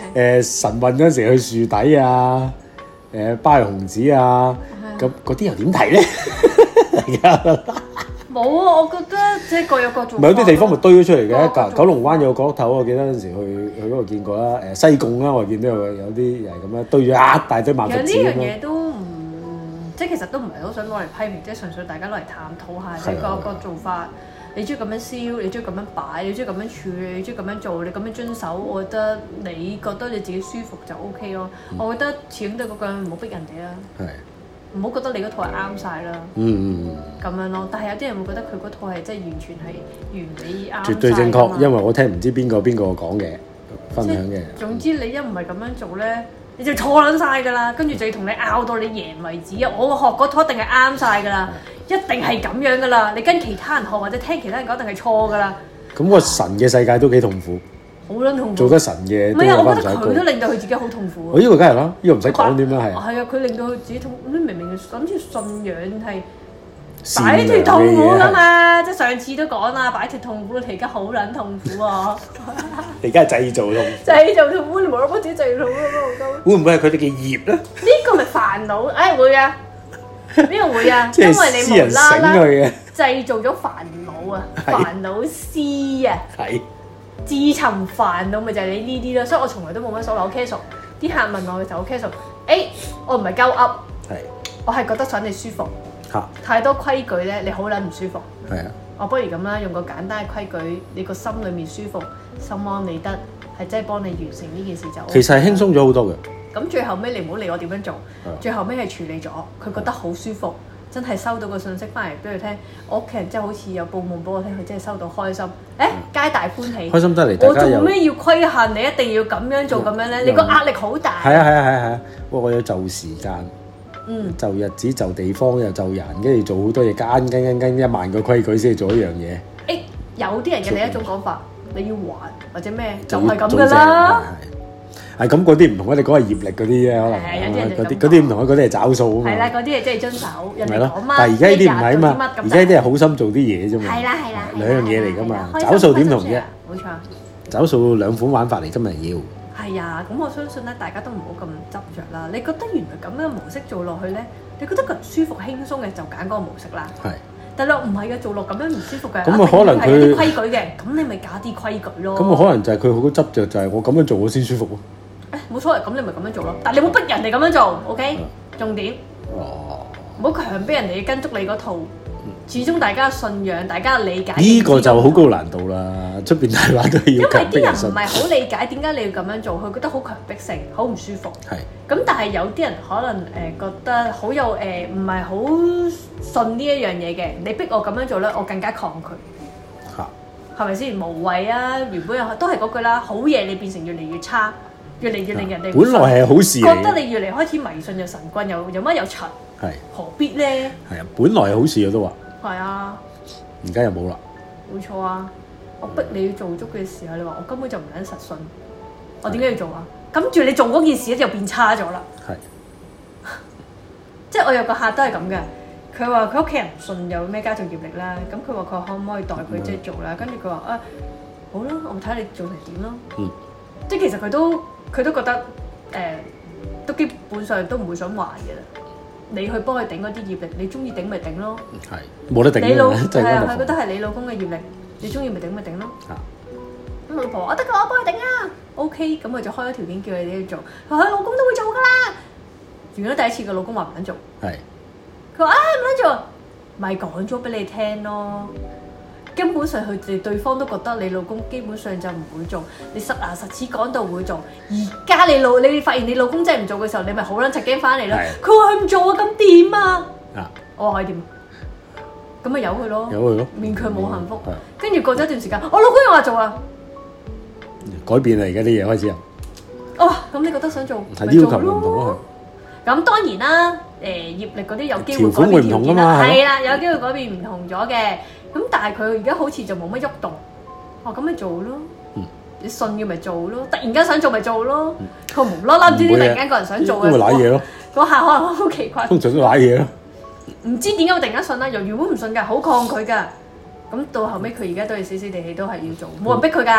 誒晨運嗰陣時去樹底啊，誒巴黎紅子啊，咁嗰啲又點睇咧？而家冇啊，我覺得即係各有各做。 唔係有啲地方咪堆咗出嚟嘅，九九龍灣有個角落頭，我記得嗰陣時去去嗰度見過啦。誒西貢啦，我見到有有啲又係咁樣堆咗一大堆萬佛寺咁樣。 其實呢樣嘢都唔即係其實都唔係好想攞嚟批評，即係純粹大家攞嚟探討下，即係個個做法。你中意咁樣燒，你中意咁樣擺，你中意咁樣處理，你中意咁樣做，你咁樣遵守，我覺得你覺得你自己舒服就 O K 咯。嗯、我覺得始終都係嗰句，唔好逼人哋啦。係。唔好覺得你嗰套係啱晒啦，嗯嗯嗯，咁樣咯。但係有啲人會覺得佢嗰套係真係完全係完美啱，絕對正確。因為我聽唔知邊個邊個講嘅分享嘅。總之你一唔係咁樣做咧，你就錯撚晒㗎啦。跟住就要同你拗到你贏為止啊！我學嗰套一定係啱晒㗎啦，一定係咁樣㗎啦。你跟其他人學或者聽其他人講，一定係錯㗎啦。咁個神嘅世界都幾痛苦。好撚痛苦，做得神嘅，唔係啊！我覺得佢都令到佢自己好痛苦。我呢個梗係啦，呢個唔使講點樣係。係啊，佢令到佢自己痛，你明明諗住信仰係擺脫痛苦㗎嘛，即係上次都講啦，擺脫痛苦，你而家好撚痛苦啊！你而家係製造痛苦，製造痛苦，你無啦啦自己製造痛苦，會唔會係佢哋嘅業咧？呢個咪煩惱？誒會啊，呢個會啊，因為你無啦啦製造咗煩惱啊，煩惱絲啊，係。自尋煩惱咪就係你呢啲咯，所以我從來都冇乜所謂，我 casual。啲客問我嘅時候，我 casual。誒，我唔係鳩噏，係，我係覺得想你舒服。嚇！太多規矩咧，你好撚唔舒服。係啊。我不如咁啦，用個簡單嘅規矩，你個心裡面舒服，心安理得，係真係幫你完成呢件事就。其實係輕鬆咗好多嘅。咁最後尾你唔好理我點樣做，最後尾係處理咗，佢覺得好舒服。真係收到個信息翻嚟俾佢聽，我屋企人真係好似有報夢俾我聽，佢真係收到開心，誒皆大歡喜。開心得嚟，我做咩要規限你一定要咁樣做咁樣咧？你個壓力好大。係啊係啊係啊係啊！不過我要就時間，嗯，就日子就地方又就人，跟住做好多嘢，跟跟跟跟一萬個規矩先做一樣嘢。誒，有啲人嘅另一種講法，你要還或者咩，就係咁噶啦。係咁，嗰啲唔同啊！你講係業力嗰啲啫，可能嗰啲嗰啲唔同啊，嗰啲係找數啊嘛。係啦，嗰啲係即係遵守人哋講乜。但係而家呢啲唔係啊嘛，而家呢啲係好心做啲嘢啫嘛。係啦係啦，兩樣嘢嚟㗎嘛。找數點同啫？冇錯。找數兩款玩法嚟，今日要。係啊，咁我相信咧，大家都唔好咁執着啦。你覺得原來咁樣模式做落去咧，你覺得佢舒服輕鬆嘅就揀嗰個模式啦。係。但係唔係嘅，做落咁樣唔舒服嘅，咁啊可能佢有啲規矩嘅，咁你咪加啲規矩咯。咁啊可能就係佢好執着，就係我咁樣做我先舒服咯。誒冇所謂，咁你咪咁樣做咯。但係你冇逼人哋咁樣做 ，OK？重點，唔好強逼人哋跟足你嗰套。始終大家嘅信仰，大家嘅理解呢個就好高難度啦。出邊大話都要強逼人信。因為啲人唔係好理解點解你要咁樣做，佢覺得好強迫性，好唔舒服。係。咁但係有啲人可能誒覺得好有誒唔係好信呢一樣嘢嘅，你逼我咁樣做咧，我更加抗拒。嚇。係咪先無謂啊？原本都係嗰句啦，好嘢你變成越嚟越差。越嚟越令人哋本來係好事，覺得你越嚟開始迷信又神棍又有乜有塵，係何必咧？係啊，本來係好事我都話。係啊，而家又冇啦。冇錯啊！我逼你要做足嘅時候，你話我根本就唔撚實信，我點解要做啊？跟住你做嗰件事咧就變差咗啦。係，即係我有個客都係咁嘅，佢話佢屋企人唔信有咩家族業力啦，咁佢話佢可唔可以代佢即係做啦？跟住佢話啊，好啦，我睇下你做成點咯。嗯，即係其實佢都。佢都覺得誒、呃，都基本上都唔會想還嘅啦。你去幫佢頂嗰啲業力，你中意頂咪頂咯。係冇得頂。你老係啊，佢覺得係你老公嘅業力，你中意咪頂咪頂咯。啊！咁老婆我得㗎，我幫佢頂啊。O K，咁佢就開咗條件叫你哋去做。佢話佢老公都會做㗎啦。完咗第一次，個老公話唔撚做。係。佢話啊唔撚做，咪講咗俾你聽咯。根本上佢哋對方都覺得你老公基本上就唔會做，你實牙實齒講到會做。而家你老你發現你老公真係唔做嘅時候，你咪好撚柒驚翻嚟咯。佢話佢唔做啊，咁點啊？啊！我話可以點？咁咪由佢咯，由佢咯，勉強冇幸福。跟住過咗一段時間，我老公又話做啊，改變啦！而家啲嘢開始啊。哦，咁你覺得想做咪做咯？咁當然啦，誒業力嗰啲有機會改變條件啦，係啦，有機會改變唔同咗嘅。咁但係佢而家好似就冇乜喐動，哦咁咪做咯，嗯、你信嘅咪做咯，突然間想做咪做咯，佢、嗯、無啦啦唔知點突然間個人想做嘅，咁咪瀨嘢咯，嗰下可能好奇怪，通常都瀨嘢咯，唔知點解會突然間信啦，由原本唔信㗎，好抗拒㗎，咁到後尾佢而家都係死死地氣都係要做，冇人逼佢㗎，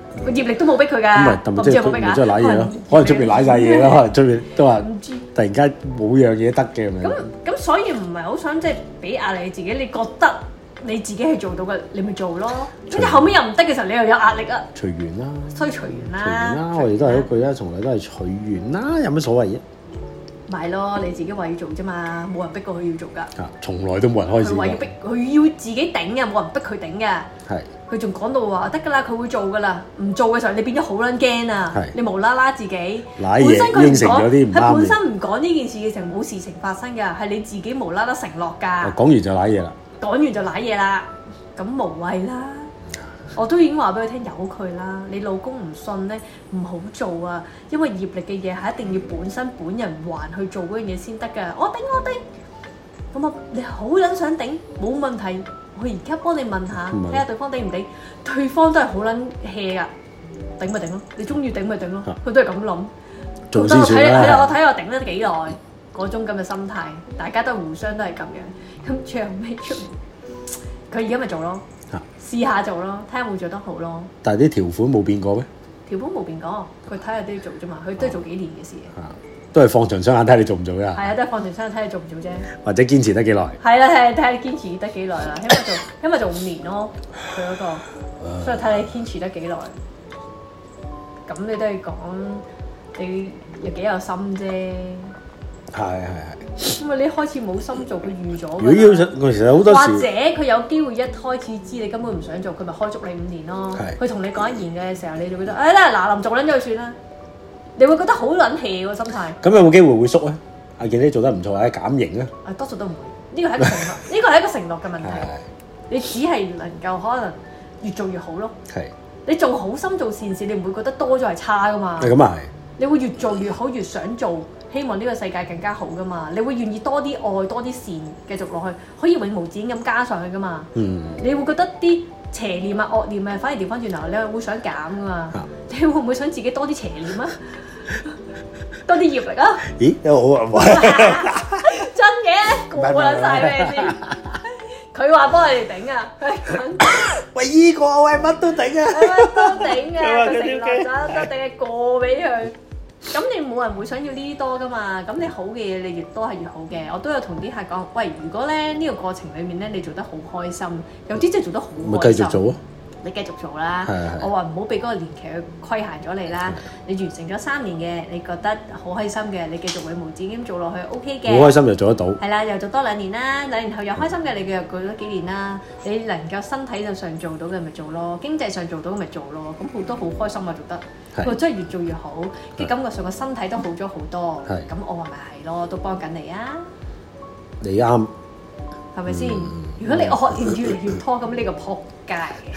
個業力都冇逼佢㗎。 咁咪，唔知有冇逼㗎？即係瀨嘢咯，可能出邊瀨晒嘢啦，可能出邊都話突然間冇樣嘢得嘅咁樣。 咁咁所以唔係好想即係俾壓力自己，你覺得你自己係做到嘅，你咪做咯。跟住後尾又唔得嘅時候，你又有壓力啊。隨緣啦， 所以隨緣啦。 隨緣啦，我哋都係嗰句啦，從來都係隨緣啦，有乜所謂啫？ 咪咯，你自己話要做啫嘛，冇人逼過佢要做㗎。 啊，從來都冇人開始。 佢話要逼，佢要自己頂嘅，冇人逼佢頂嘅。係。佢仲講到話得㗎啦，佢會做㗎啦。唔做嘅時候，你變咗好撚驚啊！你無啦啦自己，本身佢唔講，佢本身唔講呢件事嘅時候冇事情發生㗎，係你自己無啦啦承諾㗎。 講完就瀨嘢啦。講完就瀨嘢啦，咁無謂啦。我都已經話俾佢聽，由佢啦。你老公唔信咧，唔好做啊！因為業力嘅嘢係一定要本身本人還去做嗰樣嘢先得㗎。我頂我頂，咁啊你好撚想頂，冇問題。我而家幫你問下，睇下對方頂唔頂。對方都係好撚 hea 㗎，頂咪頂咯。你中意頂咪頂咯。佢都係咁諗。 做先算啦。 係啊，我睇我頂得幾耐嗰種咁嘅心態，大家都互相都係咁樣。咁最後尾出，佢而家咪做咯。試下做咯，睇下會做得好咯。但係啲條款冇變過咩？條款冇變過，佢睇下都要做啫嘛。佢都係做幾年嘅事。都係放長雙眼睇你做唔做㗎。係啊，都係放長雙眼睇你做唔做啫。或者堅持得幾耐？係啦，睇睇下你堅持得幾耐啦。起碼做，起碼做五年咯。佢嗰個，所以睇你堅持得幾耐。咁你都係講你有幾有心啫。係係係。因為你一開始冇心做，佢預咗。如果要我其實好多時，或者佢有機會一開始知你根本唔想做，佢咪開足你五年咯。佢同你講一言嘅時候，你就覺得哎啦嗱臨做撚咗佢算啦。你會覺得好撚氣喎心態。咁有冇機會會縮咧？阿健你做得唔錯，或者減刑咧？啊，多數都唔會。呢個係一個承諾，呢個係一個承諾嘅問題。你只係能夠可能越做越好咯。係。你做好心做善事，你唔會覺得多咗係差噶嘛？係咁啊係。你會越做越好，越想做，希望呢個世界更加好噶嘛？你會願意多啲愛，多啲善繼續落去，可以永無止境咁加上去噶嘛？嗯。你會覺得啲邪念啊、惡念啊，反而調翻轉頭，你係會想減噶嘛？你會唔會想自己多啲邪念啊？多啲業力啊！咦，有好啊！真嘅，過撚晒咩先？佢話幫你哋頂啊！喂，依個喂乜都頂啊！乜都頂啊！佢承諾咗，都頂係過俾佢。咁你冇人會想要呢啲多噶嘛？咁你好嘅嘢你越多係越好嘅。我都有同啲客講，喂，如果咧呢個過程裡面咧你做得好開心，有啲真係做得好開心，咪繼續做啊！你繼續做啦，我話唔好俾嗰個年期去規限咗你啦。你完成咗三年嘅，你覺得好開心嘅，你繼續永無止境做落去 OK 嘅。好開心就做得到。係啦，又做多兩年啦，兩年後又開心嘅，你又過咗幾年啦。你能夠身體上做到嘅咪做咯，經濟上做到嘅咪做咯。咁好多好開心啊，做得，佢真係越做越好，嘅感覺上個身體都好咗好多。咁我話咪係咯，都幫緊你啊。你啱，係咪先？如果你惡念越嚟越拖，咁呢個撲街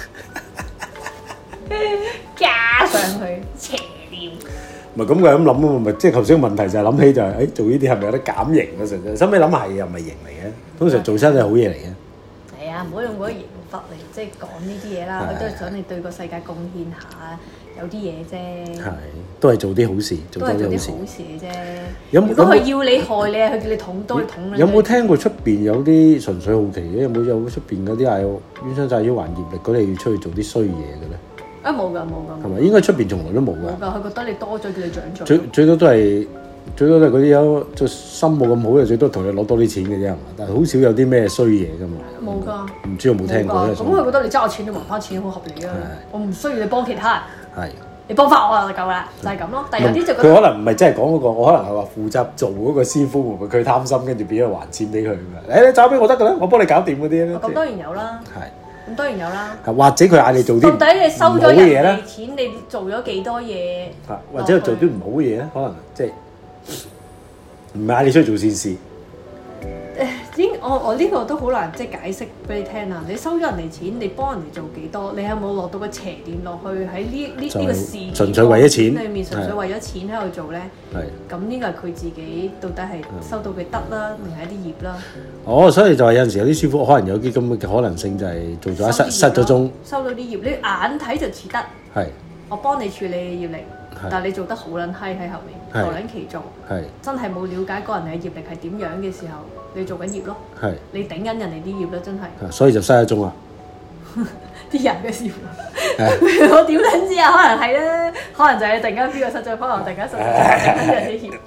加上去邪念，唔係咁佢咁諗啊嘛，咪即係頭先個問題就係諗起就係，誒做呢啲係咪有得減刑啊？實際，收尾諗下係又唔係刑嚟嘅，通常做親係好嘢嚟嘅。係啊，唔好用嗰個刑罰嚟即係講呢啲嘢啦，佢都係想你對個世界貢獻下，有啲嘢啫。係，都係做啲好事，做多啲好事嘅啫。如果佢要你害你，佢叫你捅刀，捅你。有冇聽過出邊有啲純粹好奇嘅？有冇有出邊嗰啲係冤親債主還業力嗰啲要出去做啲衰嘢嘅咧？啊冇㗎冇㗎，係咪應該出邊從來都冇㗎？冇㗎，佢覺得你多咗叫你長進。最最多都係最多都係嗰啲有做心冇咁好嘅，最多同你攞多啲錢嘅啫，係嘛？但係好少有啲咩衰嘢㗎嘛。冇㗎。唔知有冇聽過咧？咁佢覺得你揸我錢，你還翻錢好合理啊！我唔需要你幫其他人。係。你幫翻我就夠啦，就係咁咯。但係有啲就覺得佢可能唔係真係講嗰個，我可能係話負責做嗰個師傅，會唔會佢貪心，跟住變咗還錢俾佢㗎？誒，你找俾我得㗎啦，我幫你搞掂嗰啲咧。咁當然有啦。係。咁當然有啦，或者佢嗌你做啲到底你收咗人哋錢，你做咗幾多嘢？或者做啲唔好嘢咧，可能即係唔係嗌你出去做善事。誒，應我我呢個都好難即係解釋俾你聽啊！你收咗人哋錢，你幫人哋做幾多？你有冇落到個邪念落去喺呢呢呢個事純粹為咗錢裡面，純粹為咗錢喺度做咧？係。咁呢個係佢自己到底係收到嘅得啦，定係一啲業啦？哦，所以就係有陣時有啲師傅可能有啲咁嘅可能性，就係做咗一失失咗蹤，收到啲業，你眼睇就似得。係。我幫你處理業力，但係你做得好撚閪喺後面，頭撚其做，真係冇了解個人嘅業力係點樣嘅時候，你做緊業咯，你頂緊人哋啲業咯，真係。所以就失咗蹤啦。啲人嘅師傅， 我點撚知啊？可能係咧，可能就係突然間邊個失咗，可能突然間失咗，跟住人哋協。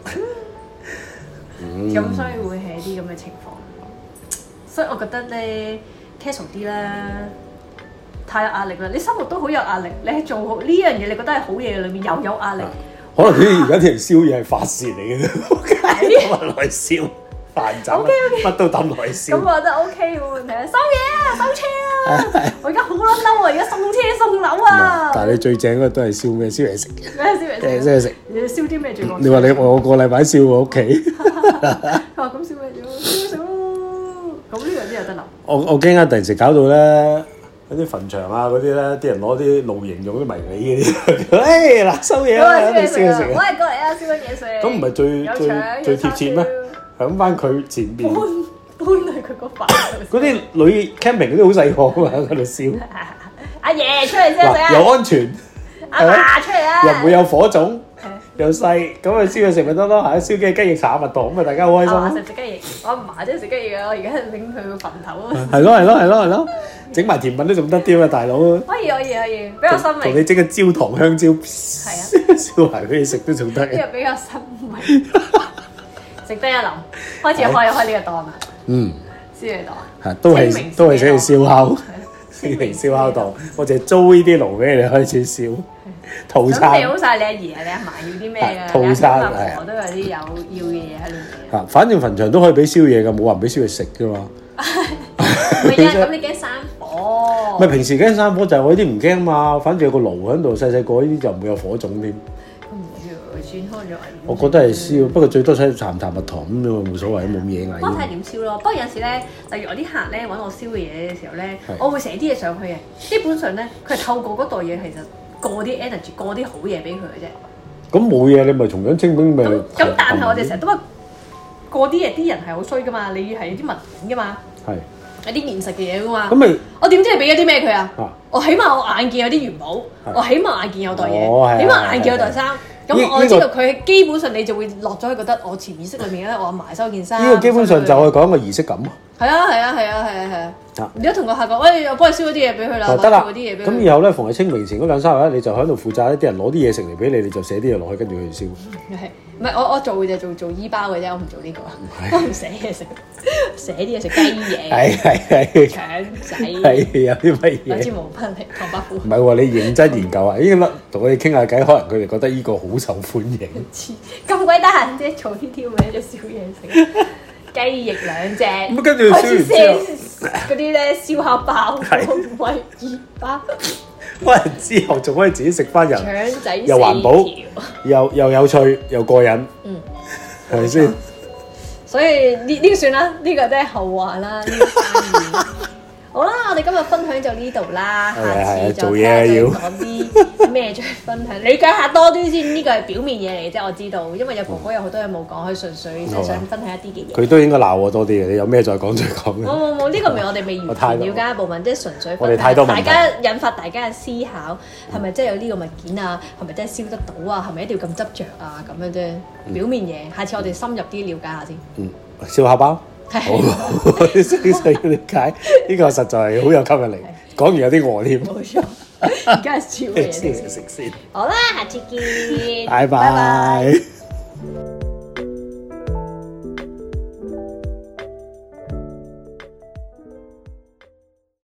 咁所以會係啲咁嘅情況。所以我覺得咧 casual 啲啦，太有壓力啦！你生活都好有壓力，你係做好呢樣嘢，你覺得係好嘢嘅裏面又有壓力。 可能啲而家啲人燒嘢係發泄嚟嘅啫，咁咪來燒飯斬，乜都抌來燒。咁我覺得 OK 冇問題啊！收嘢啊，收車啊！我而家好撚嬲啊！而家送車送樓啊！ 但係你最正嗰都係燒咩？燒嘢食嘅。 咩燒嘢食？ 燒嘢食。 你燒啲咩最講？ 你話你我個禮拜燒我屋企。 佢話咁燒咩咗？燒食咯。咁呢樣啲又得啦。 我我驚啊！突然時搞到咧〜嗰啲墳場啊，嗰啲咧，啲人攞啲露營用啲迷你嗰啲，誒嗱收嘢啦，你燒嘢食啊！ 我係過嚟啊，燒乜嘢食？ 咁唔係最最最貼切咩？響翻佢前邊，搬搬去佢個墳度。 嗰啲女 camping 嗰啲好細個㗎嘛，喺度燒。 阿爺出嚟先食啊！ 又安全， 阿嫲出嚟啊！ 又唔會有火種。又細，咁啊燒嘢食咪得咯，係燒雞雞翼炒蜜糖，咁啊大家好開心。食食雞翼，我阿嫲真係食雞翼啊！我而家拎佢個墳頭啊！係咯係咯係咯係咯，整埋甜品都仲得啲啊，大佬！ 可以可以可以，比較新穎。同你整個焦糖香蕉，係啊，燒埋俾你食都仲得。 呢個比較新穎，食得一流，開始開開呢個檔啦。嗯，燒嘢檔係都係都係寫住燒烤，清明燒烤檔，我淨係租呢啲爐俾你開始燒。套餐咁你好晒你阿爺啊，你阿嫲要啲咩啊？套餐係我都有啲有要嘅嘢喺裏面。嚇，反正墳場都可以俾燒嘢㗎，冇話唔俾燒嘢食㗎嘛。唔係啊，咁你驚山火？唔係平時驚山火就係我呢啲唔驚嘛，反正有個爐喺度，細細個呢啲就唔會有火種添。咁唔會喎，轉開咗。我覺得係燒，不過最多使鹹淡蜜糖咁樣冇所謂，冇嘢㗎。我睇點燒咯，不過有時咧，例如我啲客咧揾我燒嘅嘢嘅時候咧，我會寫啲嘢上去嘅。基本上咧，佢係透過嗰袋嘢其實。過啲 energy，過啲好嘢俾佢嘅啫。咁冇嘢，你咪同樣清明咪。咁但係我哋成日都話過啲嘢，啲人係好衰噶嘛，你係有啲文件噶嘛，係有啲現實嘅嘢噶嘛。咁咪我點知你俾咗啲咩佢啊？我起碼我眼見有啲元寶，我起碼眼見有袋嘢，起碼眼見有袋衫。咁我知道佢基本上你就會落咗去覺得我潛意識裏面咧，我埋收件衫。呢個基本上就係講個儀式感啊。係啊係啊係啊係啊係啊！你一同個客講，喂，我幫你燒嗰啲嘢俾佢啦，得啦。咁以後咧，逢係清明前嗰兩三日咧，你就喺度負責，啲人攞啲嘢食嚟俾你，你就寫啲嘢落去，跟住去燒。係，唔係我我做就做做醫包嘅啫，我唔做呢個，我唔寫嘢食，寫啲嘢食雞嘢，係係係腸仔，係有啲乜嘢？兩支毛筆嚟，唐伯虎。唔係喎，你認真研究啊！依家同我哋傾下偈，可能佢哋覺得呢個好受歡迎。咁鬼得閒啫，做呢啲咁嘅燒嘢食。雞翼兩隻，咁跟住燒完之後，嗰啲咧燒烤包、威爾包，翻嚟之後仲可以自己食翻人，腸仔又環保，又又有趣又過癮，嗯，係咪先？所以呢呢個算啦，呢個都係後話啦。好啦，我哋今日分享就呢度啦，下次再講啲咩再分享，理解下多啲先。呢個係表面嘢嚟嘅啫，我知道，因為有婆婆有好多嘢冇講，佢純粹即係想分享一啲嘅嘢。佢都應該鬧我多啲嘅，你有咩再講再講。冇冇冇，呢個唔係我哋未完全了解一部分，即係純粹我哋太多問題，大家引發大家嘅思考，係咪真係有呢個物件啊？係咪真係燒得到啊？係咪一定要咁執着啊？咁樣啫，表面嘢。下次我哋深入啲了解下先。嗯，燒烤包。好，細細嘅理解，呢個實在係好有吸引力。講完有啲餓添。冇錯，而家係燒嘢食先。好啦，下次見。拜拜。